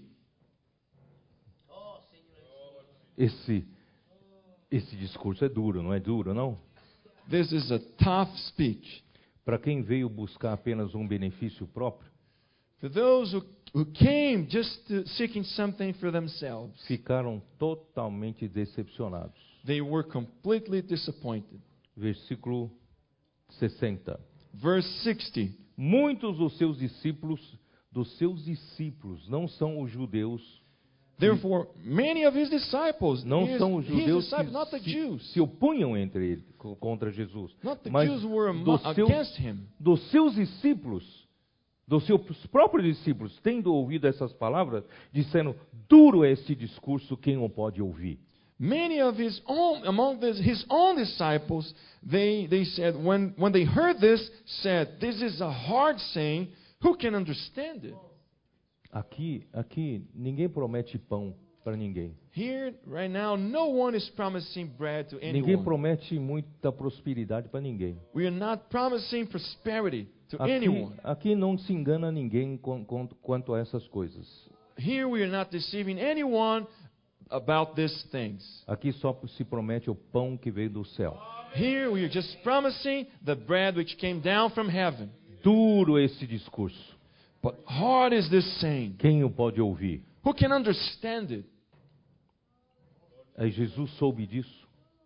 Esse discurso é duro, não é duro, não? This is a tough speech. Para quem veio buscar apenas um benefício próprio, For those who came just seeking something for themselves, ficaram totalmente decepcionados. they were completely disappointed. Versículo 60. Verse 60. Muitos dos seus discípulos, não são os judeus, Therefore, many of his disciples, não são os judeus disciples, not the que Jews, se opunham entre ele contra Jesus, not the mas Jews were against him. dos seus discípulos, dos seus próprios discípulos, tendo ouvido essas palavras, disseram: duro é este discurso, quem o pode ouvir? Many of his own disciples, they said, when they heard this, said, this is a hard saying, who can understand it? Aqui, ninguém promete pão para ninguém. Here, right now, no one is promising bread to Ninguém anyone. promete muita prosperidade para ninguém. We are not promising prosperity to anyone. Aqui não se engana ninguém quanto a essas coisas. Here we are not deceiving anyone about these things. Aqui só se promete o pão que veio do céu. Here we are just promising the bread which came down from heaven. Duro esse discurso. But hard is this saying. Quem o pode ouvir? Who can understand it? Aí Jesus soube disso.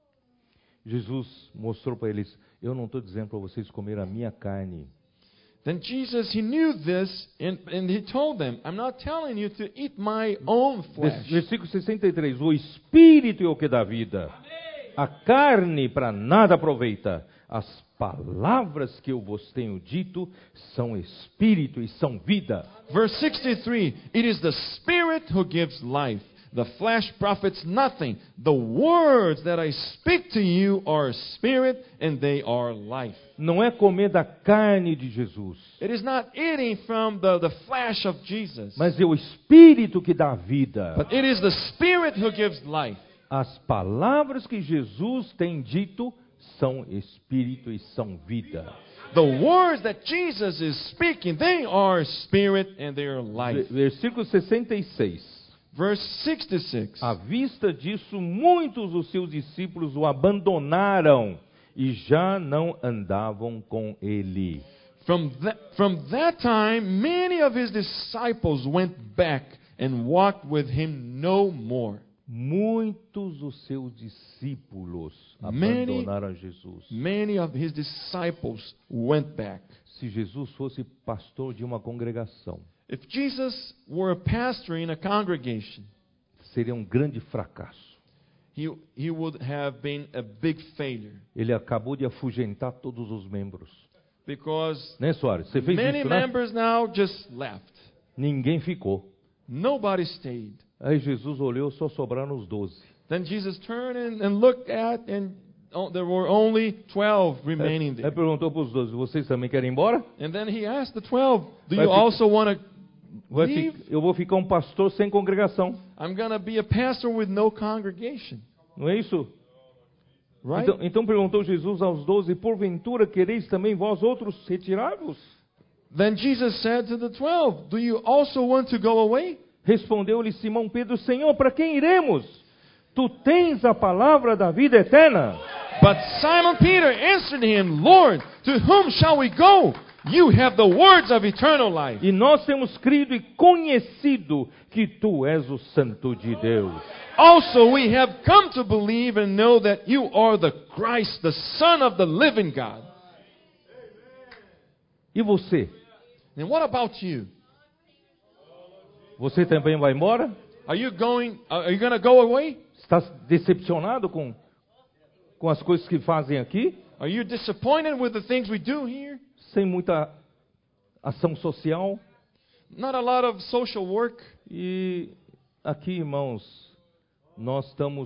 Jesus mostrou para eles: eu não estou dizendo para vocês comer a minha carne. Then Jesus, he knew this, and he told them, I'm not telling you to eat my own flesh. Versículo 63. O Espírito é o que dá vida. A carne para nada aproveita. As palavras que eu vos tenho dito são Espírito e são vida. Verse 63, it is the Spirit who gives life. The flesh profits nothing. The words that I speak to you are Spirit and they are life. Não é comer da carne de Jesus, It is not eating from the flesh of Jesus, mas é o Espírito que dá vida. but it is the Spirit who gives life. As palavras que Jesus tem dito são Espírito e são vida. The words that Jesus is speaking, they are Spirit and they are life. Versículo 66. Verse 66. À vista disso, muitos dos seus discípulos o abandonaram e já não andavam com ele. From that time, many of his disciples went back and walked with him no more. Muitos dos seus discípulos abandonaram Jesus. Many of his disciples went back. Se Jesus fosse pastor de uma congregação, If Jesus were a pastor in a congregation, seria um grande fracasso. he would have been a big failure. Ele acabou de afugentar todos os membros. Because Né, Soares? Você fez many isso, né? members now just left. Ninguém ficou. Nobody stayed. Aí Jesus olhou, só sobraram os 12. Then Jesus turned and looked at, and there were only 12 remaining Aí there. perguntou para os 12, vocês também querem ir embora? And then he asked the 12, do Vai you ficar- also want to leave? Eu vou ficar um pastor sem congregação. I'm going to be a pastor with no congregation. Não é isso? Right? Então perguntou Jesus aos 12, porventura quereis também vós outros retirar-vos? Then Jesus said to the 12, do you also want to go away? Respondeu-lhe Simão Pedro, Senhor, para quem iremos? Tu tens a palavra da vida eterna. But Simon Peter answered him, Lord, to whom shall we go? you have the words of eternal life. E nós temos crido e conhecido que tu és o Santo de Deus. Also, we have come to believe and know that you are the Christ, the Son of the living God. E você? And what about you? Você também vai embora? Are you going to go away? Está decepcionado com as coisas que fazem aqui? Are you disappointed with the things we do here? Sem muita ação social? Not a lot of social work. E aqui, irmãos, nós estamos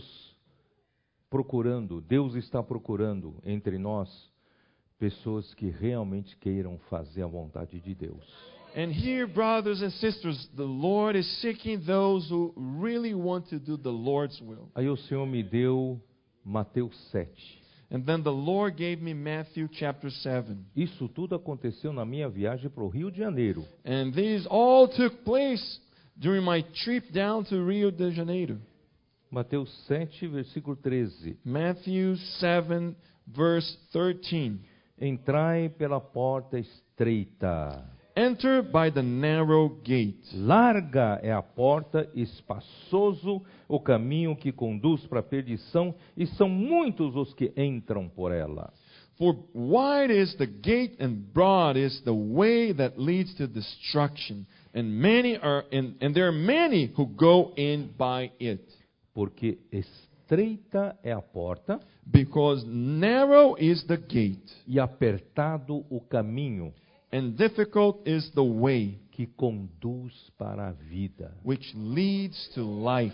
procurando, Deus está procurando entre nós pessoas que realmente queiram fazer a vontade de Deus. And here, brothers and sisters, the Lord is seeking those who really want to do the Lord's will. Aí o Senhor me deu Mateus 7. And then the Lord gave me Matthew chapter 7. Isso tudo aconteceu na minha viagem para o Rio de Janeiro. And these all took place during my trip down to Rio de Janeiro. Mateus 7, versículo 13. Matthew 7, verse 13. Entrai pela porta estreita. Enter by the narrow gate. Larga é a porta, espaçoso o caminho que conduz para a perdição, e são muitos os que entram por ela. For wide is the gate and broad is the way that leads to destruction, and there are many who go in by it. Porque estreita é a porta, Because narrow is the gate, e apertado o caminho and difficult is the way que conduz para a vida. which leads to life.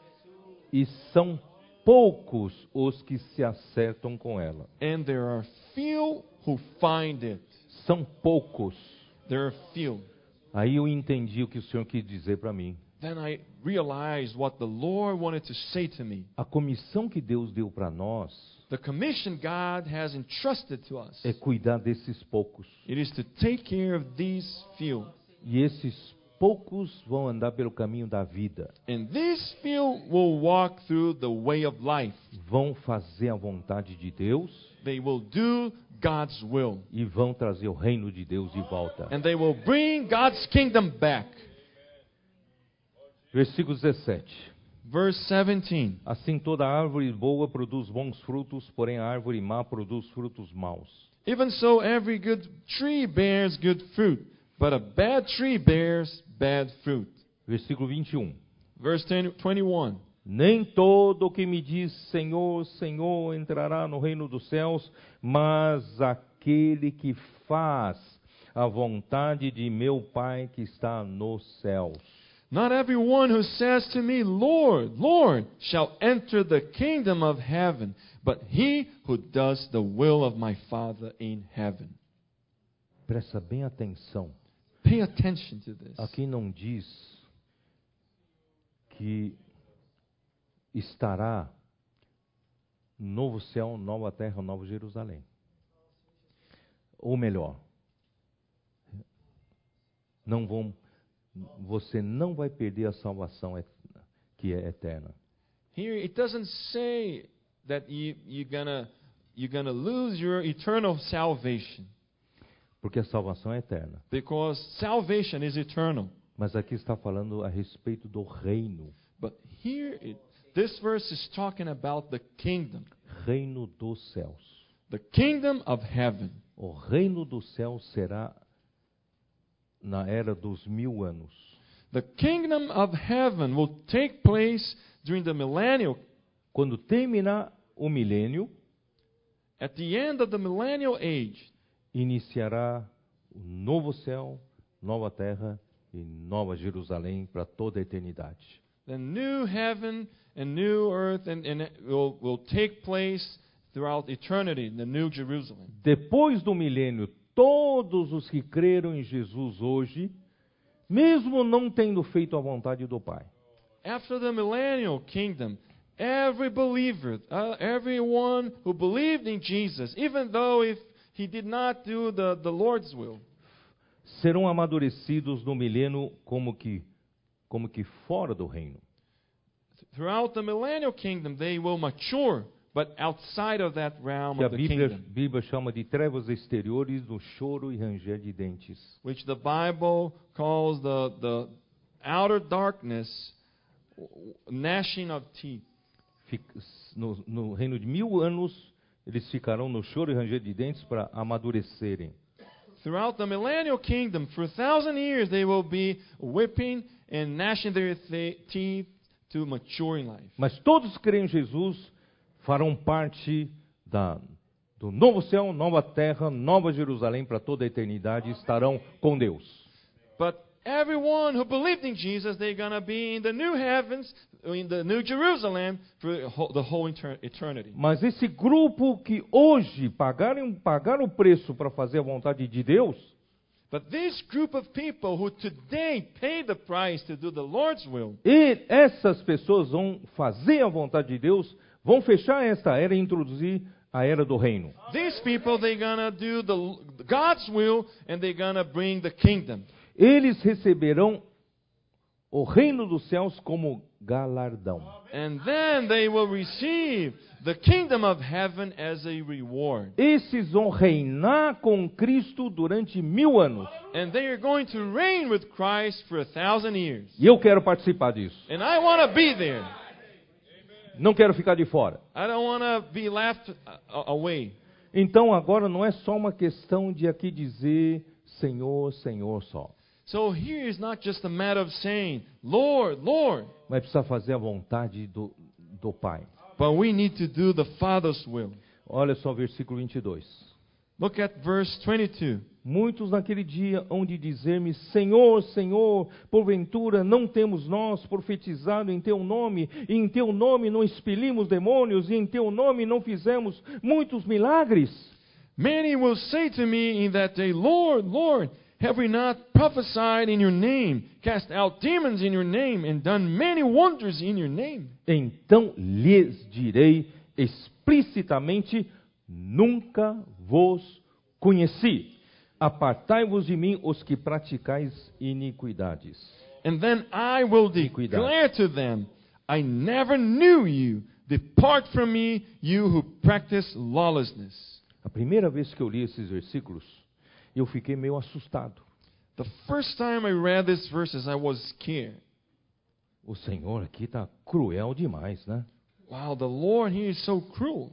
E são poucos os que se acertam com ela. And there are few who find it. São poucos. There are few. Aí eu entendi o que o Senhor quis dizer para mim. Then I realized what the Lord wanted to say to me. A comissão que Deus deu para nós The commission God has entrusted to us. é cuidar desses poucos. It is to take care of these few. E esses poucos vão andar pelo caminho da vida. And these few will walk through the way of life. Vão fazer a vontade de Deus They will do God's will. e vão trazer o reino de Deus de volta. And they will bring God's kingdom back. Versículo 17. Verse 17. Assim toda árvore boa produz bons frutos, porém a árvore má produz frutos maus. Even so, every good tree bears good fruit, but a bad tree bears bad fruit. Versículo 21. Verse 21. Nem todo o que me diz Senhor, Senhor entrará no reino dos céus, mas aquele que faz a vontade de meu Pai que está nos céus. Not everyone who says to me, Lord, Lord, shall enter the kingdom of heaven, but he who does the will of my Father in heaven. Presta bem atenção. Pay attention to this. Aqui não diz que estará novo céu, nova terra, nova Jerusalém. Ou melhor, você não vai perder a salvação que é eterna. Here it doesn't say that you're gonna lose your eternal salvation, Porque a salvação é eterna. because salvation is eternal. Mas aqui está falando a respeito do reino. But here this verse is talking about the kingdom, Reino dos céus. the kingdom of heaven. O reino dos céus será na era dos 1000 anos. The kingdom of heaven will take place during the millennial. Quando terminar o milênio, At the end of the millennial age, iniciará o novo céu, nova terra e nova Jerusalém para toda a eternidade. the new heaven and new earth and it will take place throughout eternity, the new Jerusalem. Depois do milênio, todos os que creram em Jesus hoje, mesmo não tendo feito a vontade do Pai, After the millennial kingdom, every believer, everyone who believed in Jesus, even though if he did not do the Lord's will, serão amadurecidos no milênio como que fora do reino. throughout the millennial kingdom, they will mature but outside of that realm que a of the kingdom, Bíblia chama de trevas exteriores, do choro e ranger de dentes. which the Bible calls the outer darkness, gnashing of teeth. No reino de 1000 anos, eles ficarão no choro e ranger de dentes para amadurecerem. Throughout the millennial kingdom, for 1,000 years, they will be whipping and gnashing their teeth to mature in life. Mas todos que creem em Jesus farão parte do novo céu, nova terra, nova Jerusalém para toda a eternidade, estarão com Deus. But everyone who believed in Jesus, they're going to be in the new heavens, in the new Jerusalem for the whole eternity. Mas esse grupo que hoje pagaram o preço para fazer a vontade de Deus, But this group of people who today pay the price to do the Lord's will, e essas pessoas vão fazer a vontade de Deus, vão fechar esta era e introduzir a era do reino. these people, they're going to do God's will, and they're going to bring the kingdom. Eles receberão o reino dos céus como galardão. And then they will receive the kingdom of heaven as a reward. Esses vão reinar com Cristo durante 1000 anos. And they are going to reign with Christ for 1,000 years. E eu quero participar disso. And I want to be there. Não quero ficar de fora. I don't want to be left away. Então agora não é só uma questão de aqui dizer Senhor, Senhor só. So here is not just a matter of saying, Lord, Lord. Mas precisa fazer a vontade do Pai. But we need to do the Father's will. Olha só o versículo 22. Look at verse 22. Muitos naquele dia hão de dizer-me, Senhor, Senhor, porventura não temos nós profetizado em Teu nome, e em Teu nome não expelimos demônios, e em Teu nome não fizemos muitos milagres? Many will say to me in that day, Lord, Lord, have we not prophesied in Your name, cast out demons in Your name, and done many wonders in Your name? Então lhes direi explicitamente, nunca vos conheci. Apartai-vos de mim, os que praticais iniquidades. And then I will declare to them, I never knew you. Depart from me, you who practice lawlessness. A primeira vez que eu li esses versículos, eu fiquei meio assustado. The first time I read these verses, I was scared. O Senhor aqui está cruel demais, né? Wow, the Lord here is so cruel.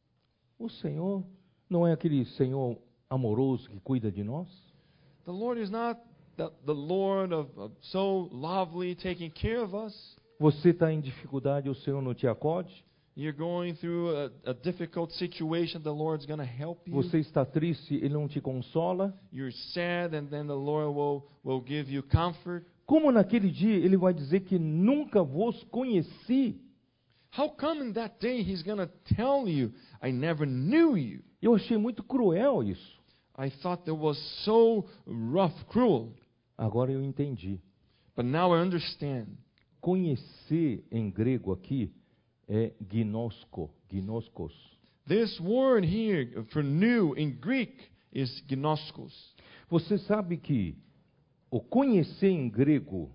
O Senhor não é aquele Senhor amoroso que cuida de nós? The Lord is not the Lord of so lovely taking care of us. Você está em dificuldade, o Senhor não te acode? You're going through a difficult situation, the Lord's going to help you. Você está triste, Ele não te consola? You're sad, and then the Lord will give you comfort. Como naquele dia Ele vai dizer que nunca vos conheci? How come in that day He's going to tell you, I never knew you? Eu achei muito cruel isso. I thought that was so rough, cruel. Agora eu entendi. But now I understand. Conhecer em grego aqui é gnosko, gnoskos. This word here for new in Greek is gnoskos. Você sabe que o conhecer em grego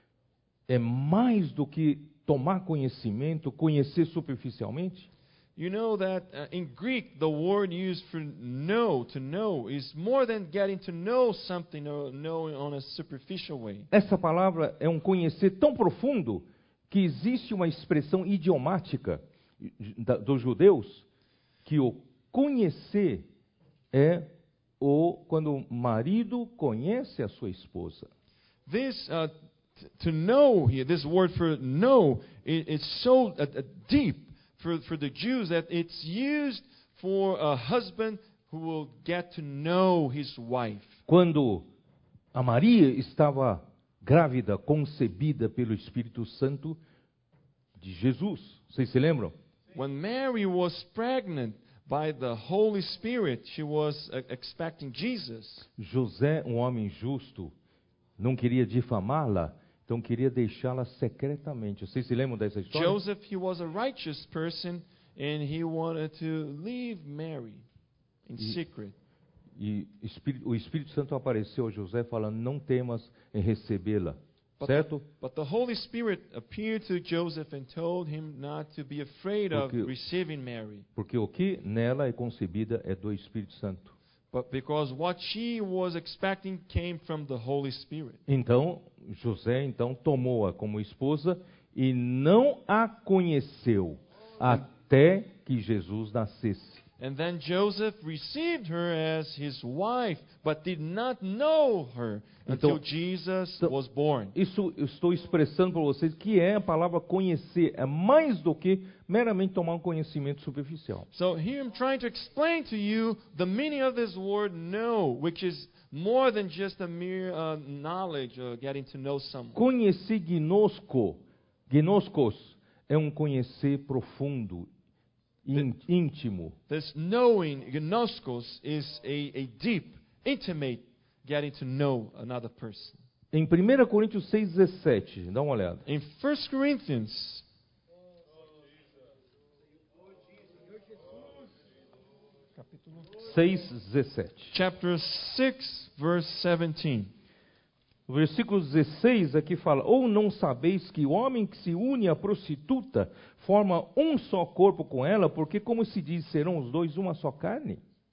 é mais do que tomar conhecimento, conhecer superficialmente? You know that in Greek, the word used for know, to know, is more than getting to know something or knowing on a superficial way. Essa palavra é um conhecer tão profundo que existe uma expressão idiomática dos judeus que o conhecer é quando o marido conhece a sua esposa. This to know here, this word for know, it's so deep for the Jews that it's used for a husband who will get to know his wife. Quando a Maria estava grávida, concebida pelo Espírito Santo de Jesus, vocês se lembram? When Mary was pregnant by the Holy Spirit, she was expecting Jesus. José, um homem justo, não queria difamá-la, então queria deixá-la secretamente. Vocês se lembram dessa história? Joseph, he was a righteous person, and he wanted to leave Mary in secret. E o Espírito Santo apareceu a José falando, não temas em recebê-la. certo? But the Holy Spirit appeared to Joseph and told him not to be afraid of receiving Mary. Porque o que nela é concebida é do Espírito Santo. But because what she was expecting came from the Holy Spirit. Então, José tomou-a como esposa e não a conheceu até que Jesus nascesse. And then Joseph received her as his wife, but did not know her until Jesus was born. Isso eu estou expressando para vocês que é a palavra conhecer, é mais do que meramente tomar um conhecimento superficial. So here I'm trying to explain to you the meaning of this word know, which is more than just a mere knowledge or getting to know someone. Conhecer gnoskos, é um conhecer profundo, íntimo. This knowing, gnoskos, is a deep, intimate getting to know another person. Em 1 Coríntios 6,17, dá uma olhada. In 1 Corinthians 6,17. chapter 6, verse 17. O versículo 16 aqui fala: ou não sabeis que o homem que se une à prostituta forma um só corpo com ela, porque como se diz, serão os dois uma só carne?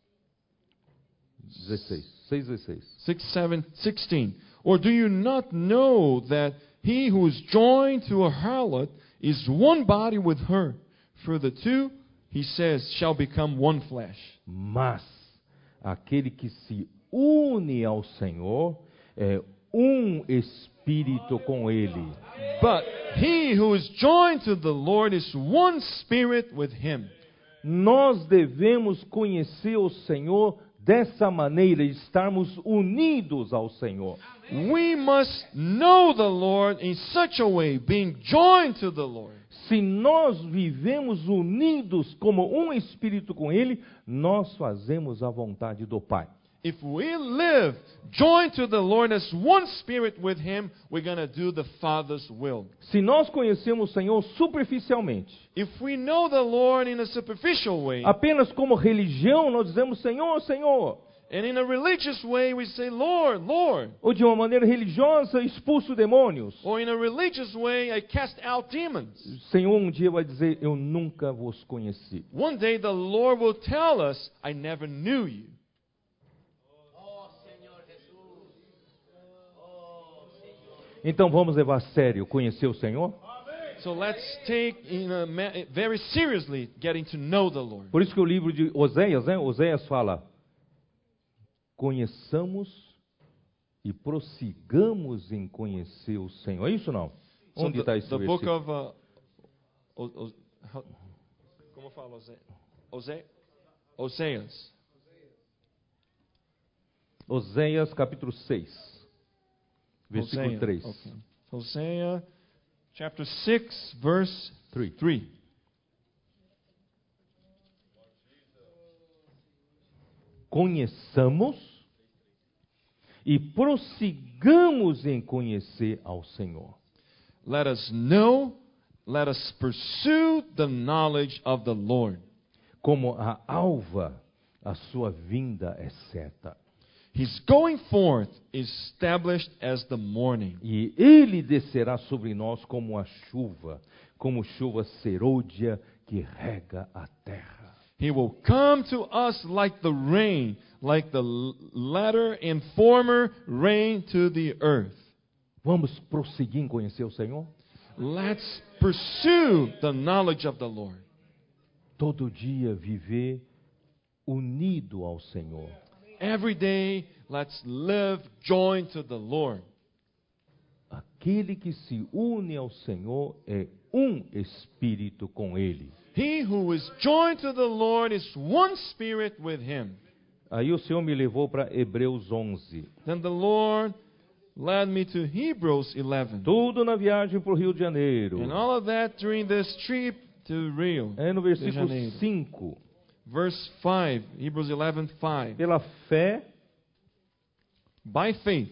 6:16. 16. Or do you not know that he who is joined to a harlot is one body with her? For the two, he says, shall become one flesh. Mas aquele que se une ao Senhor é um espírito com ele. But he who is joined to the Lord is one spirit with him. Nós devemos conhecer o Senhor dessa maneira, estarmos unidos ao Senhor. We must know the Lord in such a way, being joined to the Lord. Se nós vivemos unidos como um espírito com Ele, nós fazemos a vontade do Pai. If we live joined to the Lord as one spirit with Him, we're going to do the Father's will. Se nós conhecemos o Senhor superficialmente, If we know the Lord in a superficial way, apenas como religião, nós dizemos Senhor, Senhor. and in a religious way we say, Lord, Lord. Ou de uma maneira religiosa, expulso demônios. Or in a religious way, I cast out demons. Senhor um dia vai dizer, eu nunca vos conheci. One day the Lord will tell us, I never knew you. Então vamos levar a sério conhecer o Senhor? So let's take very seriously getting to know the Lord. Por isso que o livro de Oséias, Oséias fala, conheçamos e prossigamos em conhecer o Senhor. É isso ou não? Onde está esse the book versículo? of como fala Oséias. Oséias capítulo 6. Versículo 3. Okay. Hosea chapter 6 verse 3. Conheçamos e prossigamos em conhecer ao Senhor. Let us know, let us pursue the knowledge of the Lord. Como a alva, a sua vinda é certa. His going forth is established as the morning. E ele descerá sobre nós como como chuva serôdia que rega a terra. He will come to us like the rain, like the latter and former rain to the earth. Vamos prosseguir em conhecer o Senhor? Let's pursue the knowledge of the Lord. Todo dia viver unido ao Senhor. Every day, let's live joined to the Lord. Aquele que se une ao Senhor é um espírito com Ele. He who is joined to the Lord is one spirit with Him. Aí o Senhor me levou para Hebreus 11. Then the Lord led me to Hebrews 11. Tudo na viagem para o Rio de Janeiro. And all of that during this trip to Rio. É no versículo de 5. Verse 5, Hebrews 11:5. Pela fé, by faith,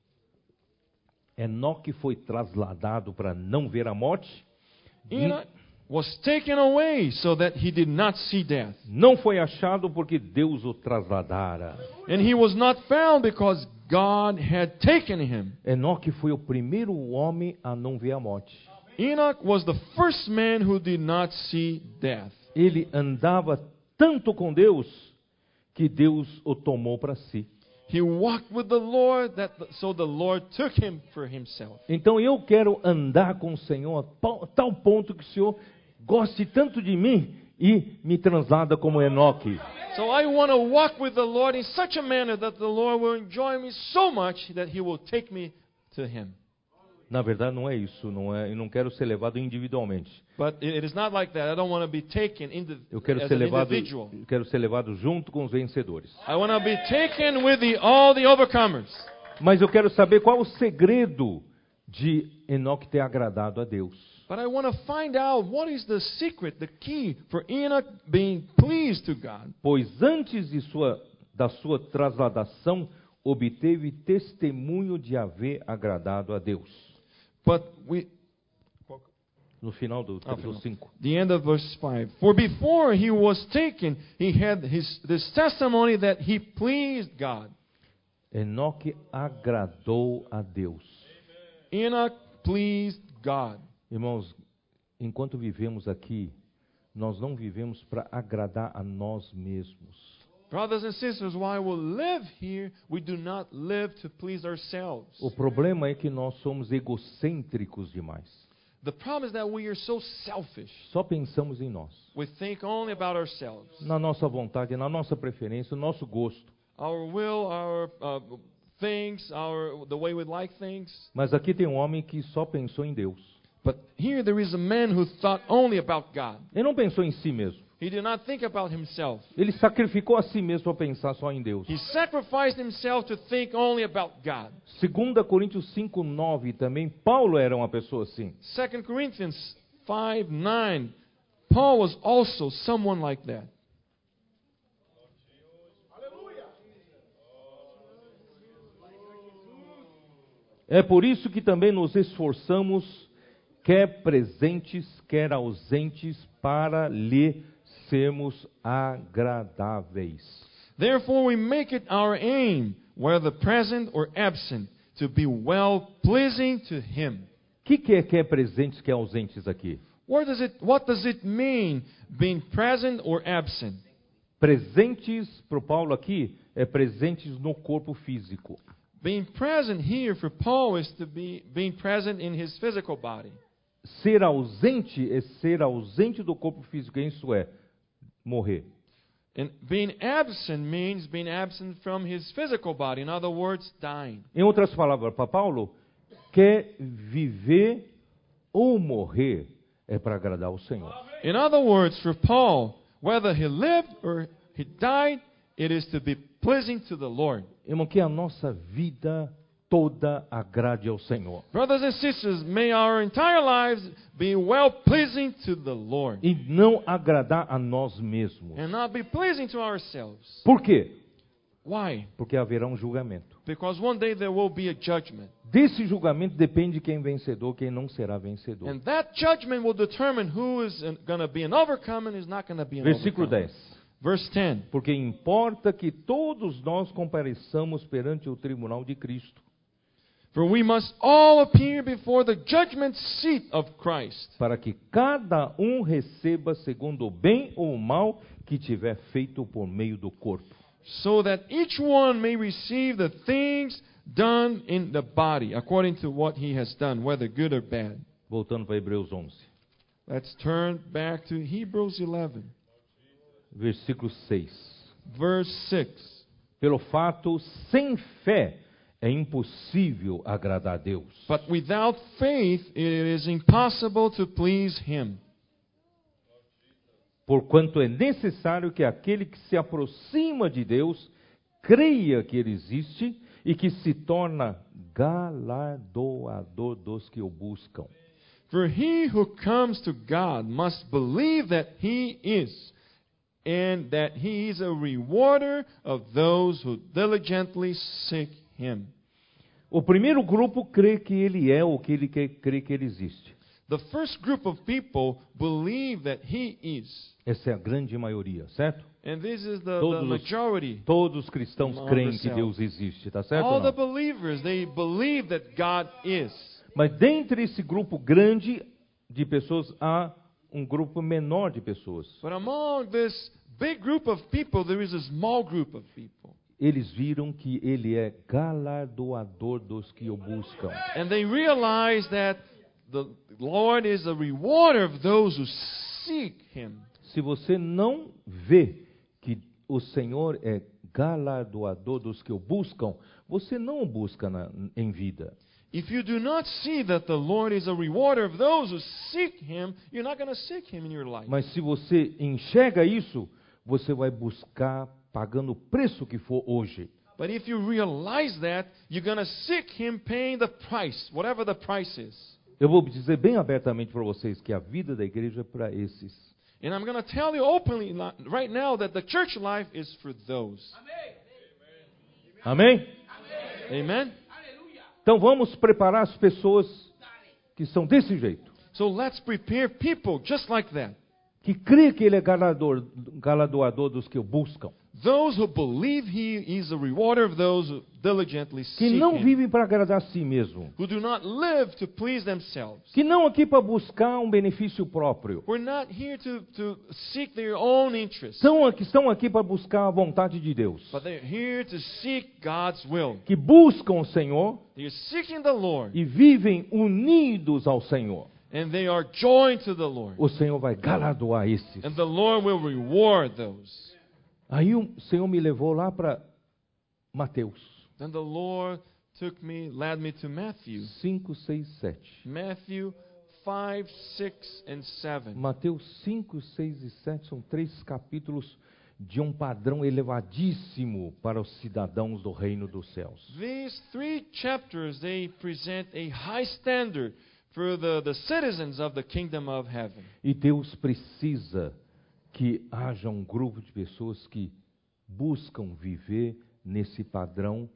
Enoque foi trasladado para não ver a morte. Enoch was taken away so that he did not see death. Não foi achado porque Deus o trasladara. And he was not found because God had taken him. Enoque foi o primeiro homem a não ver a morte. Enoch was the first man who did not see death. Ele andava tanto com Deus que Deus o tomou para si. He walked with the Lord, so the Lord took him for himself. Então eu quero andar com o Senhor a tal ponto que o Senhor goste tanto de mim e me translada como Enoque. So I want to walk with the Lord in such a manner that the Lord will enjoy me so much that He will take me to Him. Na verdade não é isso, eu não quero ser levado individualmente. But it is not like that. I don't want to be taken Eu quero as ser an levado, individual. eu quero ser levado junto com os vencedores. I want to be taken with all the overcomers. Mas eu quero saber qual o segredo de Enoque ter agradado a Deus. But I want to find out what is the secret, the key for Enoch being pleased to God. Pois antes da sua trasladação, obteve testemunho de haver agradado a Deus. But we No final do 5. The end of verse 5. For before he was taken, he had this testimony that he pleased God. Enoque agradou a Deus. Enoch pleased God. Irmãos, enquanto vivemos aqui, nós não vivemos para agradar a nós mesmos. Brothers and sisters, while we live here, we do not live to please ourselves. O problema é que nós somos egocêntricos demais. The problem is that we are so selfish. Só pensamos em nós. We think only about ourselves. Na nossa vontade, na nossa preferência, no nosso gosto. Our will, our things, the way we like things. Mas aqui tem um homem que só pensou em Deus. But here there is a man who thought only about God. Ele não pensou em si mesmo. He did not think about himself. Ele sacrificou a si mesmo para pensar só em Deus. He sacrificed himself to think only about God. 2 Coríntios 5:9 também, Paulo era uma pessoa assim. 2 Corinthians 5:9. Paul was also someone like that. É por isso que também nos esforçamos, quer presentes, quer ausentes, para lhe sermos agradáveis. Therefore we make it our aim, whether present or absent, to be well pleasing to him. O que é quer presentes, quer ausentes aqui? What does it mean being present or absent? Presentes para o Paulo aqui é presentes no corpo físico. Being present here for Paul is to be being present in his physical body. Ser ausente é ser ausente do corpo físico, isso é morrer. And being absent means being absent from his physical body. In other words, dying. Em outras palavras, para Paulo, quer viver ou morrer é para agradar ao Senhor. In other words, for Paul, whether he lived or he died, it is to be pleasing to the Lord. Irmão, que a nossa vida toda agrade ao Senhor. Brothers and sisters, may our entire lives be well pleasing to the Lord. E não agradar a nós mesmos. And not be pleasing to ourselves. Por quê? Why? Porque haverá um julgamento. Because one day there will be a judgment. Desse julgamento depende quem é vencedor, quem não será vencedor. And that judgment will determine who is going to be an overcomer and is not going to be an Versículo overcomer. 10. Verse 10. Porque importa que todos nós compareçamos perante o tribunal de Cristo, For we must all appear before the judgment seat of Christ, para que cada um receba segundo o bem ou o mal que tiver feito por meio do corpo. so that each one may receive the things done in the body, according to what he has done, whether good or bad. Voltando para Hebreus 11, Let's turn back to Hebrews 11, versículo 6. verse 6. Pelo fato, sem fé é impossível agradar a Deus. But without faith it is impossible to please him. Porquanto é necessário que aquele que se aproxima de Deus creia que Ele existe e que se torna galardoador dos que o buscam. For he who comes to God must believe that he is, and that he is a rewarder of those who diligently seek him. O primeiro grupo crê que Ele é ou que Ele crê que Ele existe. The first group of people believe that He is. Essa é a grande maioria, certo? And this is the Todos majority. Todos os cristãos Among creem que themselves. Deus existe, tá certo? All ou the não? believers, they believe that God is. Mas dentre esse grupo grande de pessoas, há um grupo menor de pessoas. But among this big group of people, there is a small group of people. Eles viram que Ele é galardoador dos que o buscam. And they realize that the Lord is a rewarder of those who seek Him. Se você não vê que o Senhor é galardoador dos que o buscam, você não o busca em vida. If you do not see that the Lord is a rewarder of those who seek Him, you're not going to seek Him in your life. Mas se você enxerga isso, você vai buscar pagando o preço que for hoje. But if you realize that, you're going to seek Him paying the price, whatever the price is. Eu vou dizer bem abertamente para vocês que a vida da igreja é para esses. And I'm going to tell you openly right now that the church life is for those. Amém? Amen? Então vamos preparar as pessoas que são desse jeito. So let's prepare people just like that. Que crê que Ele é galardoador dos que o buscam. Those who believe He is a rewarder of those who diligently Que seek não Him. vivem para agradar a si mesmo. Who do not live to please themselves. Que não aqui para buscar um benefício próprio. We're not here to seek their own interests. Estão aqui para buscar a vontade de Deus. But they're here to seek God's will. Que buscam o Senhor They're seeking the Lord. e vivem unidos ao Senhor. And they are joined to the Lord. O Senhor vai galardoar esses. And the Lord will reward those. Aí o Senhor me levou lá para Mateus Then the Lord led me to Matthew. 5, 6, 7. Matthew 5, 6, and 7. Mateus 5, 6 e 7 são 3 capítulos de um padrão elevadíssimo para os cidadãos do reino dos céus. These 3 chapters, they present a high standard for the citizens of the kingdom of heaven. E Deus precisa que haja um grupo de pessoas que buscam viver nesse padrão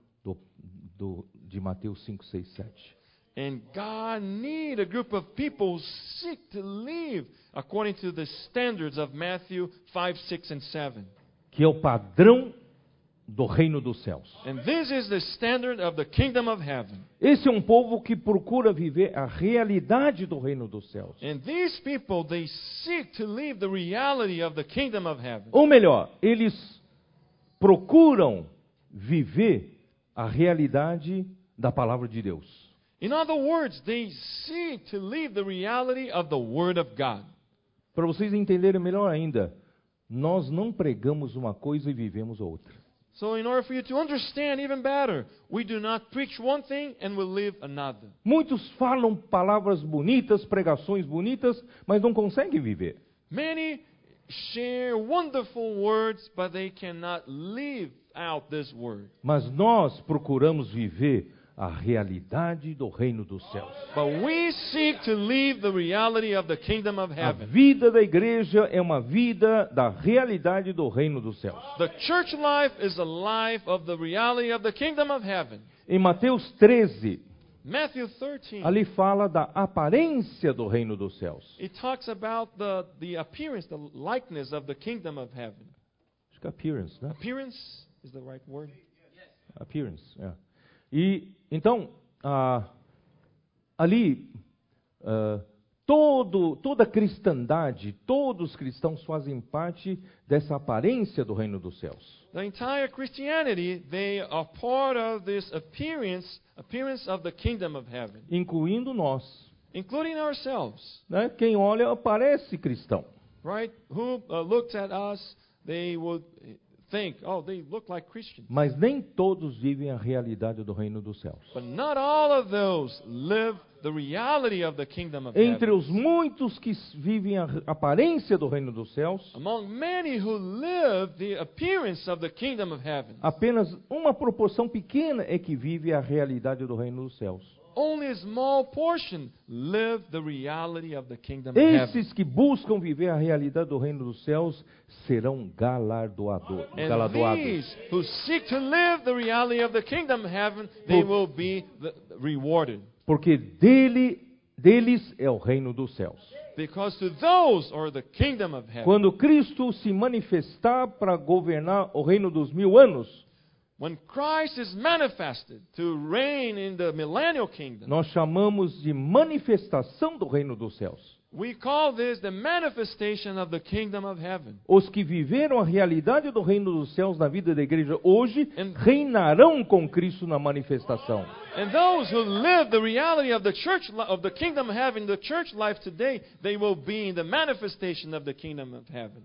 de Mateus 5, 6, 7. And God needs a group of people who seek to live according to the standards of Matthew 5, 6, and 7. Que é o padrão do reino dos céus. And this is the standard of the kingdom of heaven. Esse é um povo que procura viver a realidade do reino dos céus. And these people, they seek to live the reality of the kingdom of heaven. Ou melhor, eles procuram viver a realidade da palavra de Deus. In other words, they seek to live the reality of the Word of God. Para vocês entenderem melhor ainda, nós não pregamos uma coisa e vivemos outra. So in order for you to understand even better, we do not preach one thing and we live another. Muitos falam palavras bonitas, pregações bonitas, mas não conseguem viver. Many share wonderful words, but they cannot live out this word. Mas nós procuramos viver a realidade do reino dos céus. But we seek to live the reality of the kingdom of A heaven. vida da igreja é uma vida da realidade do reino dos céus. The church life is a life of the reality of the kingdom of heaven. Em Mateus 13, Matthew 13, ali fala da aparência do reino dos céus. it talks about the appearance, the likeness of the kingdom of heaven. Acho que é appearance, né? Appearance is the right word. Appearance, é. E então, ali, toda a cristandade, todos os cristãos fazem parte dessa aparência do reino dos céus. The entire Christianity, they are part of this appearance of the kingdom of heaven, Incluindo nós. including ourselves, Né? Quem olha parece cristão. right? Who looks at us, they would think, oh, they look like Christians. Mas nem todos vivem a realidade do reino dos céus. But not all of those live the reality of the kingdom of Entre heaven. os muitos que vivem a aparência do reino dos céus, Among many who live the appearance of the kingdom of heaven, apenas uma proporção pequena é que vive a realidade do reino dos céus. only a small portion live the reality of the kingdom of heaven. Esses que buscam viver a realidade do reino dos céus serão galardoados. And these who seek to live the reality of the kingdom of heaven, they will be rewarded. Porque dele deles é o reino dos céus. Because to those are the kingdom of heaven. Quando Cristo se manifestar para governar o reino dos 1000 anos, When Christ is manifested to reign in the millennial kingdom, nós chamamos de manifestação do reino dos céus. we call this the manifestation of the kingdom of heaven. Os que viveram a realidade do reino dos céus na vida da igreja hoje And- reinarão com Cristo na manifestação. And those who live the reality of the church of the kingdom of heaven, the church life today, they will be in the manifestation of the kingdom of heaven.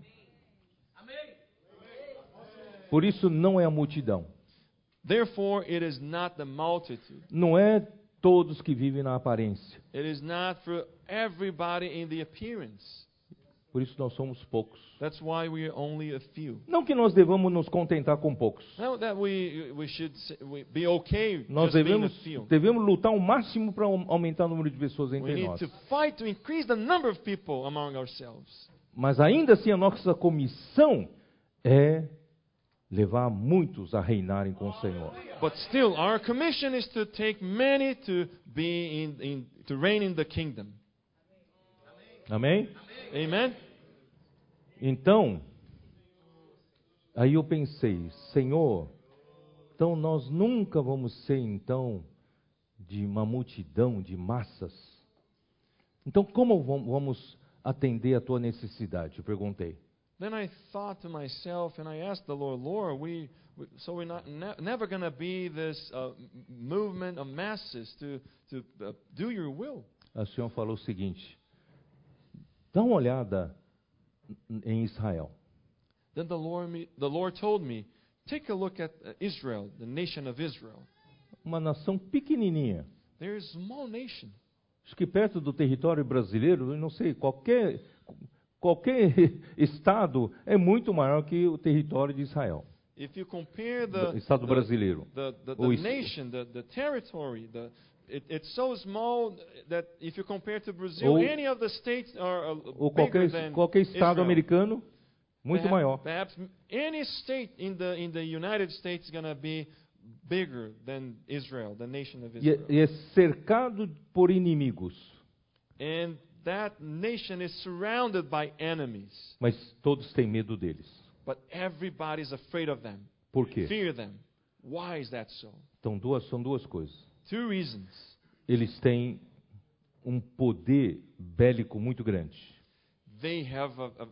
Por isso não é a multidão, Therefore, it is not the multitude. não é todos que vivem na aparência. It is not for everybody in the appearance. Por isso nós somos poucos. That's why we are only a few. Não que nós devamos nos contentar com poucos. Not that we should be okay Nós just being a devemos, few. lutar ao máximo para aumentar o número de pessoas We entre need nós. to fight to increase the number of people among ourselves. Mas ainda assim a nossa comissão é levar muitos a reinarem com o Senhor. But still, our commission is to take many to be to reign in the kingdom. Amém? Amen. Então, aí eu pensei, Senhor, então nós nunca vamos ser então de uma multidão de massas. Então como vamos atender a tua necessidade? Eu perguntei. Then I thought to myself, and I asked the Lord, so we're not never going to be this movement of masses to do your will. O Senhor falou o seguinte: dá uma olhada em Israel. Then the Lord told me, take a look at Israel, the nation of Israel. Uma nação pequenininha. They're a small nation. Acho que perto do território brasileiro, eu não sei, qualquer estado é muito maior que o território de Israel. If you compare Estado brasileiro. the Ou nation, the territory, it's so small that if you compare to Brazil, Ou- any of the states are Ou bigger than qualquer estado Israel. americano, muito maior. Perhaps any state in the United States is going to be bigger than Israel, the nation of Israel. E é cercado por inimigos, And that nation is surrounded by enemies, mas todos têm medo deles. but everybody's afraid of them, Por quê? fear them. Why is that so? Então, são duas coisas. Two reasons. Eles têm um poder bélico muito grande. They have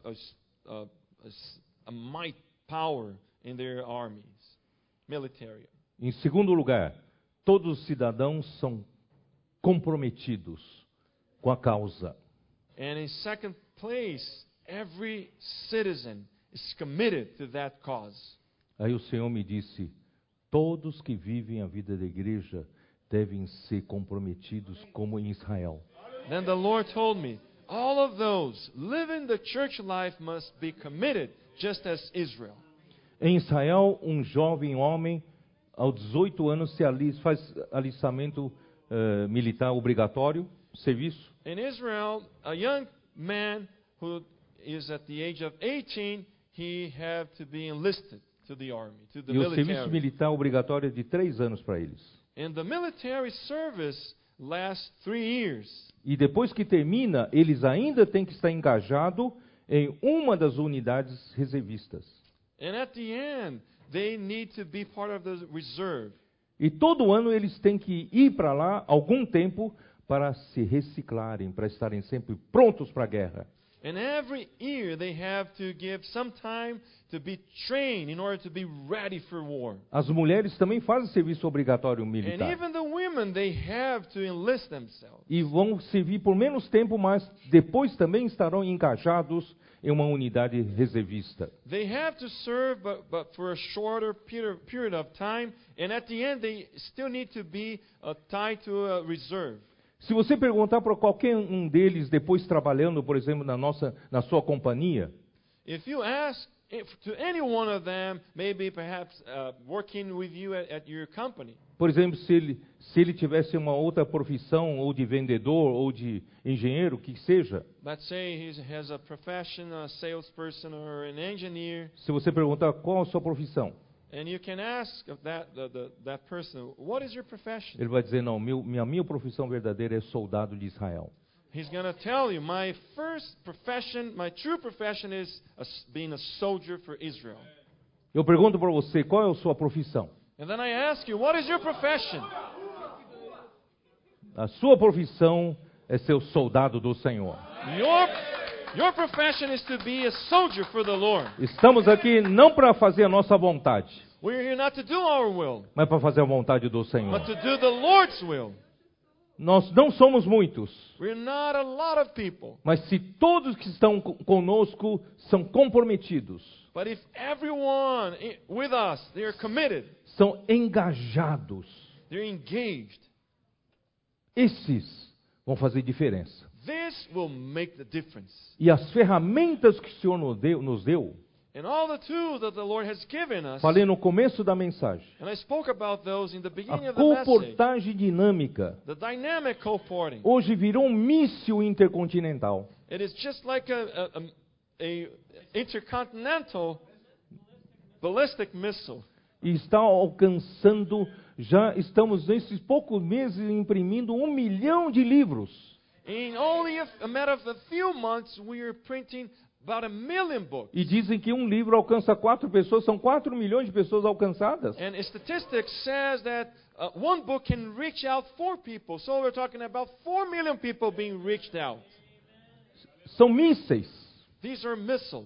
a might power in their armies, military. Em segundo lugar, todos os cidadãos são comprometidos com a causa. And in second place, every citizen is committed to that cause. Aí o Senhor me disse: todos que vivem a vida da igreja devem ser comprometidos como em Israel. Then the Lord told me, all of those living the church life must be committed, just as Israel. Em Israel, um jovem homem, aos 18 anos, faz alistamento militar obrigatório, serviço. In Israel, a young man who is at the age of 18, he have to be enlisted to the army, to the E o serviço military. militar obrigatório é de 3 anos para eles. And the military service lasts 3 years. E depois que termina, eles ainda têm que estar engajados em uma das unidades reservistas. And at the end, they need to be part of the reserve. E todo ano eles têm que ir para lá algum tempo para se reciclarem, para estarem sempre prontos para a guerra. And every year they have to give some time to be trained in order to be ready for war. As mulheres também fazem serviço obrigatório And militar. even the women, they have to enlist themselves. E vão servir por menos tempo, mas depois também estarão engajados em uma unidade reservista. They have to serve, but for a shorter period of time. And at the end, they still need to be tied to a reserve. Se você perguntar para qualquer um deles, depois trabalhando, por exemplo, na sua companhia, If you ask to any one of them, maybe perhaps working with you at your company, por exemplo, se ele tivesse uma outra profissão, ou de vendedor, ou de engenheiro, que seja, let's say he has a profession, a salesperson or an engineer, se você perguntar qual a sua profissão, And you can ask of that person, what is your profession? Ele vai dizer, não, minha profissão verdadeira é soldado de Israel. He's going to tell you, my first profession, my true profession is being a soldier for Israel. Eu pergunto para você, qual é a sua profissão? And then I ask you, what is your profession? A sua profissão é ser o soldado do Senhor. Your profession is to be a soldier for the Lord. Estamos aqui não para fazer a nossa vontade, We're here not to do our will, mas para fazer a vontade do Senhor. but to do the Lord's will. Nós não somos muitos, We're not a lot of people. mas se todos que estão conosco são comprometidos, But if everyone with us, they are committed, são engajados, they're engaged, esses vão fazer diferença. this will make the difference. E as ferramentas que o Senhor nos deu, And all the tools that the Lord has given us, falei no começo da mensagem, and I spoke about those in the beginning a of the message, comportagem dinâmica the dynamic co-porting. hoje virou um míssil intercontinental. It is just like a intercontinental ballistic missile. E está alcançando, já estamos nesses poucos meses imprimindo 1 milhão de livros. In only a matter of a few months, we are printing about 1 million books. E dizem que um livro alcança 4 pessoas, são 4 milhões de pessoas alcançadas. And statistics says that one book can reach out 4 people. So we're talking about 4 million people being reached out. São mísseis. These are missiles.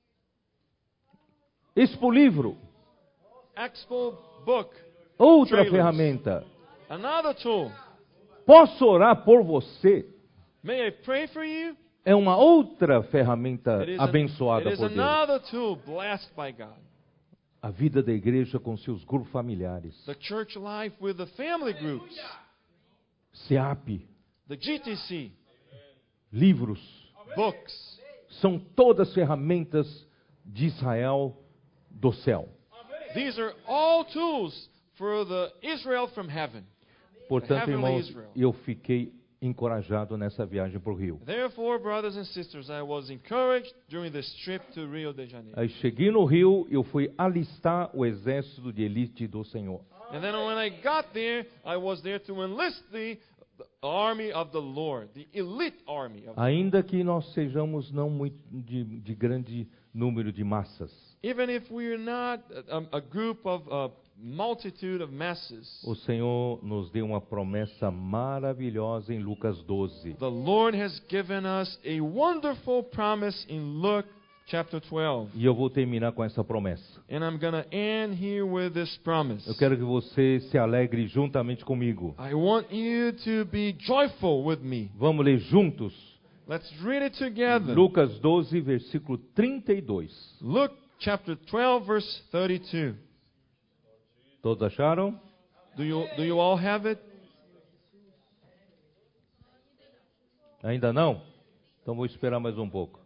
Expo Livro, Expo book. outra Trailers. ferramenta. Another tool. Posso orar por você? May I pray for you? É uma outra ferramenta It is, abençoada por Deus. another tool blessed by God. A vida da igreja com seus grupos familiares. The church life with the family groups. SEAP, The GTC. livros. Books. São todas ferramentas de Israel do céu. These are all tools for the Israel from heaven. Portanto, Heavenly irmãos, Israel. eu fiquei encorajado nessa viagem para o Rio. Therefore, brothers and sisters, I was encouraged during this trip to Rio de Janeiro. Aí cheguei no Rio, eu fui alistar o exército de elite do Senhor. And then when I got there, I was there to enlist the army of the Lord, the elite army of the Lord. Ainda que nós sejamos não muito de grande número de massas, Even if we are not a group of multitude of masses, o Senhor nos deu uma promessa maravilhosa em Lucas 12. the Lord has given us a wonderful promise in Luke chapter 12. E eu vou terminar com essa promessa. And I'm going to end here with this promise. Eu quero que você se alegre juntamente comigo. I want you to be joyful with me. Vamos ler juntos? Let's read it together. Lucas 12, versículo 32. Luke chapter 12, verse 32. Todos acharam? Do you all have it? Ainda não? Então vou esperar mais um pouco.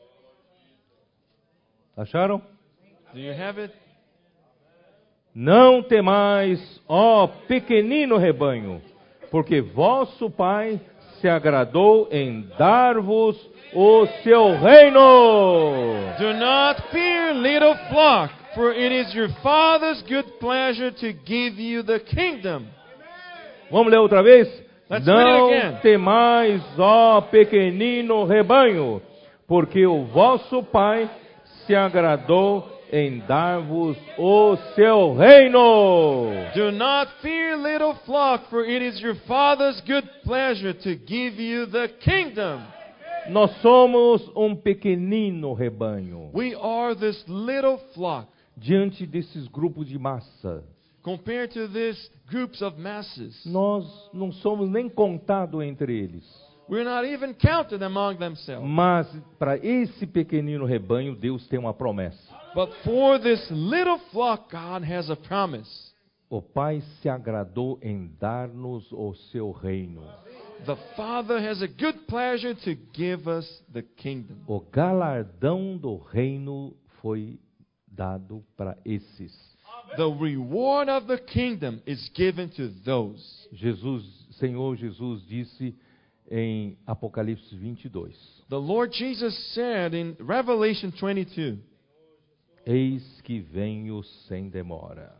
Acharam? Do you have it? Não temais, ó pequenino rebanho, porque vosso Pai se agradou em dar-vos o seu reino. Do not fear, little flock, for it is your Father's good pleasure to give you the kingdom. Vamos ler outra vez? Let's Não read it again. temais, ó pequenino rebanho, porque o vosso Pai se agradou em dar-vos o seu reino. Do not fear, little flock, for it is your Father's good pleasure to give you the kingdom. Nós somos um pequenino rebanho We are this little flock diante desses grupos de massa. compared to these groups of masses. Nós não somos nem contados entre eles. We're not even counted among themselves. Mas para esse pequenino rebanho, Deus tem uma promessa. But for this little flock, God has a promise. O Pai se agradou em dar-nos o seu reino. The Father has a good pleasure to give us the kingdom. O galardão do reino foi dado para esses. The reward of the kingdom is given to those. Senhor Jesus disse em Apocalipse 22. The Lord Jesus said in Revelation 22, Eis que venho sem demora.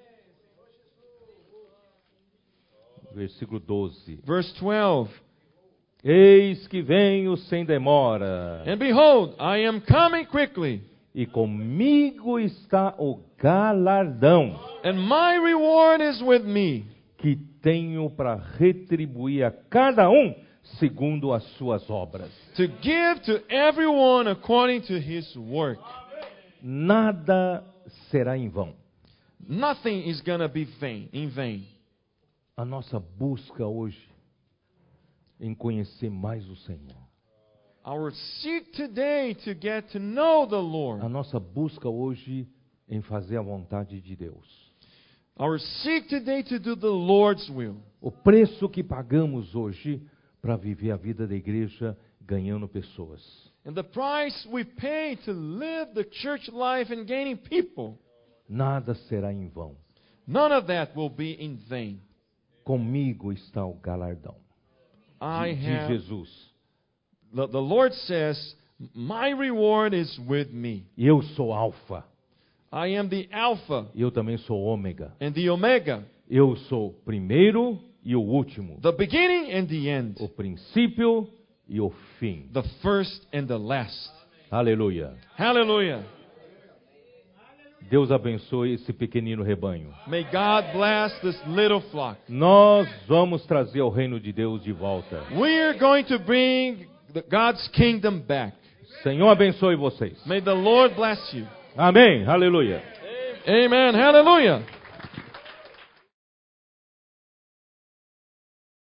Versículo 12. Verse 12. Eis que venho sem demora. And behold, I am coming quickly, E comigo está o galardão and my reward is with me, que tenho para retribuir a cada um segundo as suas obras. to give to everyone according to his work. Nada será em vão. Nothing is going to be in vain. A nossa busca hoje em conhecer mais o Senhor. Our seek today to get to know the A Lord. nossa busca hoje em fazer a vontade de Deus. Our seek today to do the Lord's will. O preço que pagamos hoje para viver a vida da igreja ganhando pessoas. And the price we pay to live the church life and gaining people, Nada será em vão. none of that will be in vain. Comigo está o galardão I de have, Jesus. the Lord says, my reward is with me. E eu sou alfa. I am the Alpha E eu também sou ômega. and the Omega, Eu sou o primeiro e o último. the beginning and the end, O princípio e o fim. the first and the last. Aleluia. Hallelujah. Deus abençoe esse pequenino rebanho. May God bless this little flock. Nós vamos trazer o reino de Deus de volta. We're going to bring God's kingdom back. Senhor abençoe vocês. May the Lord bless you. Amém. Aleluia. Amen. Hallelujah.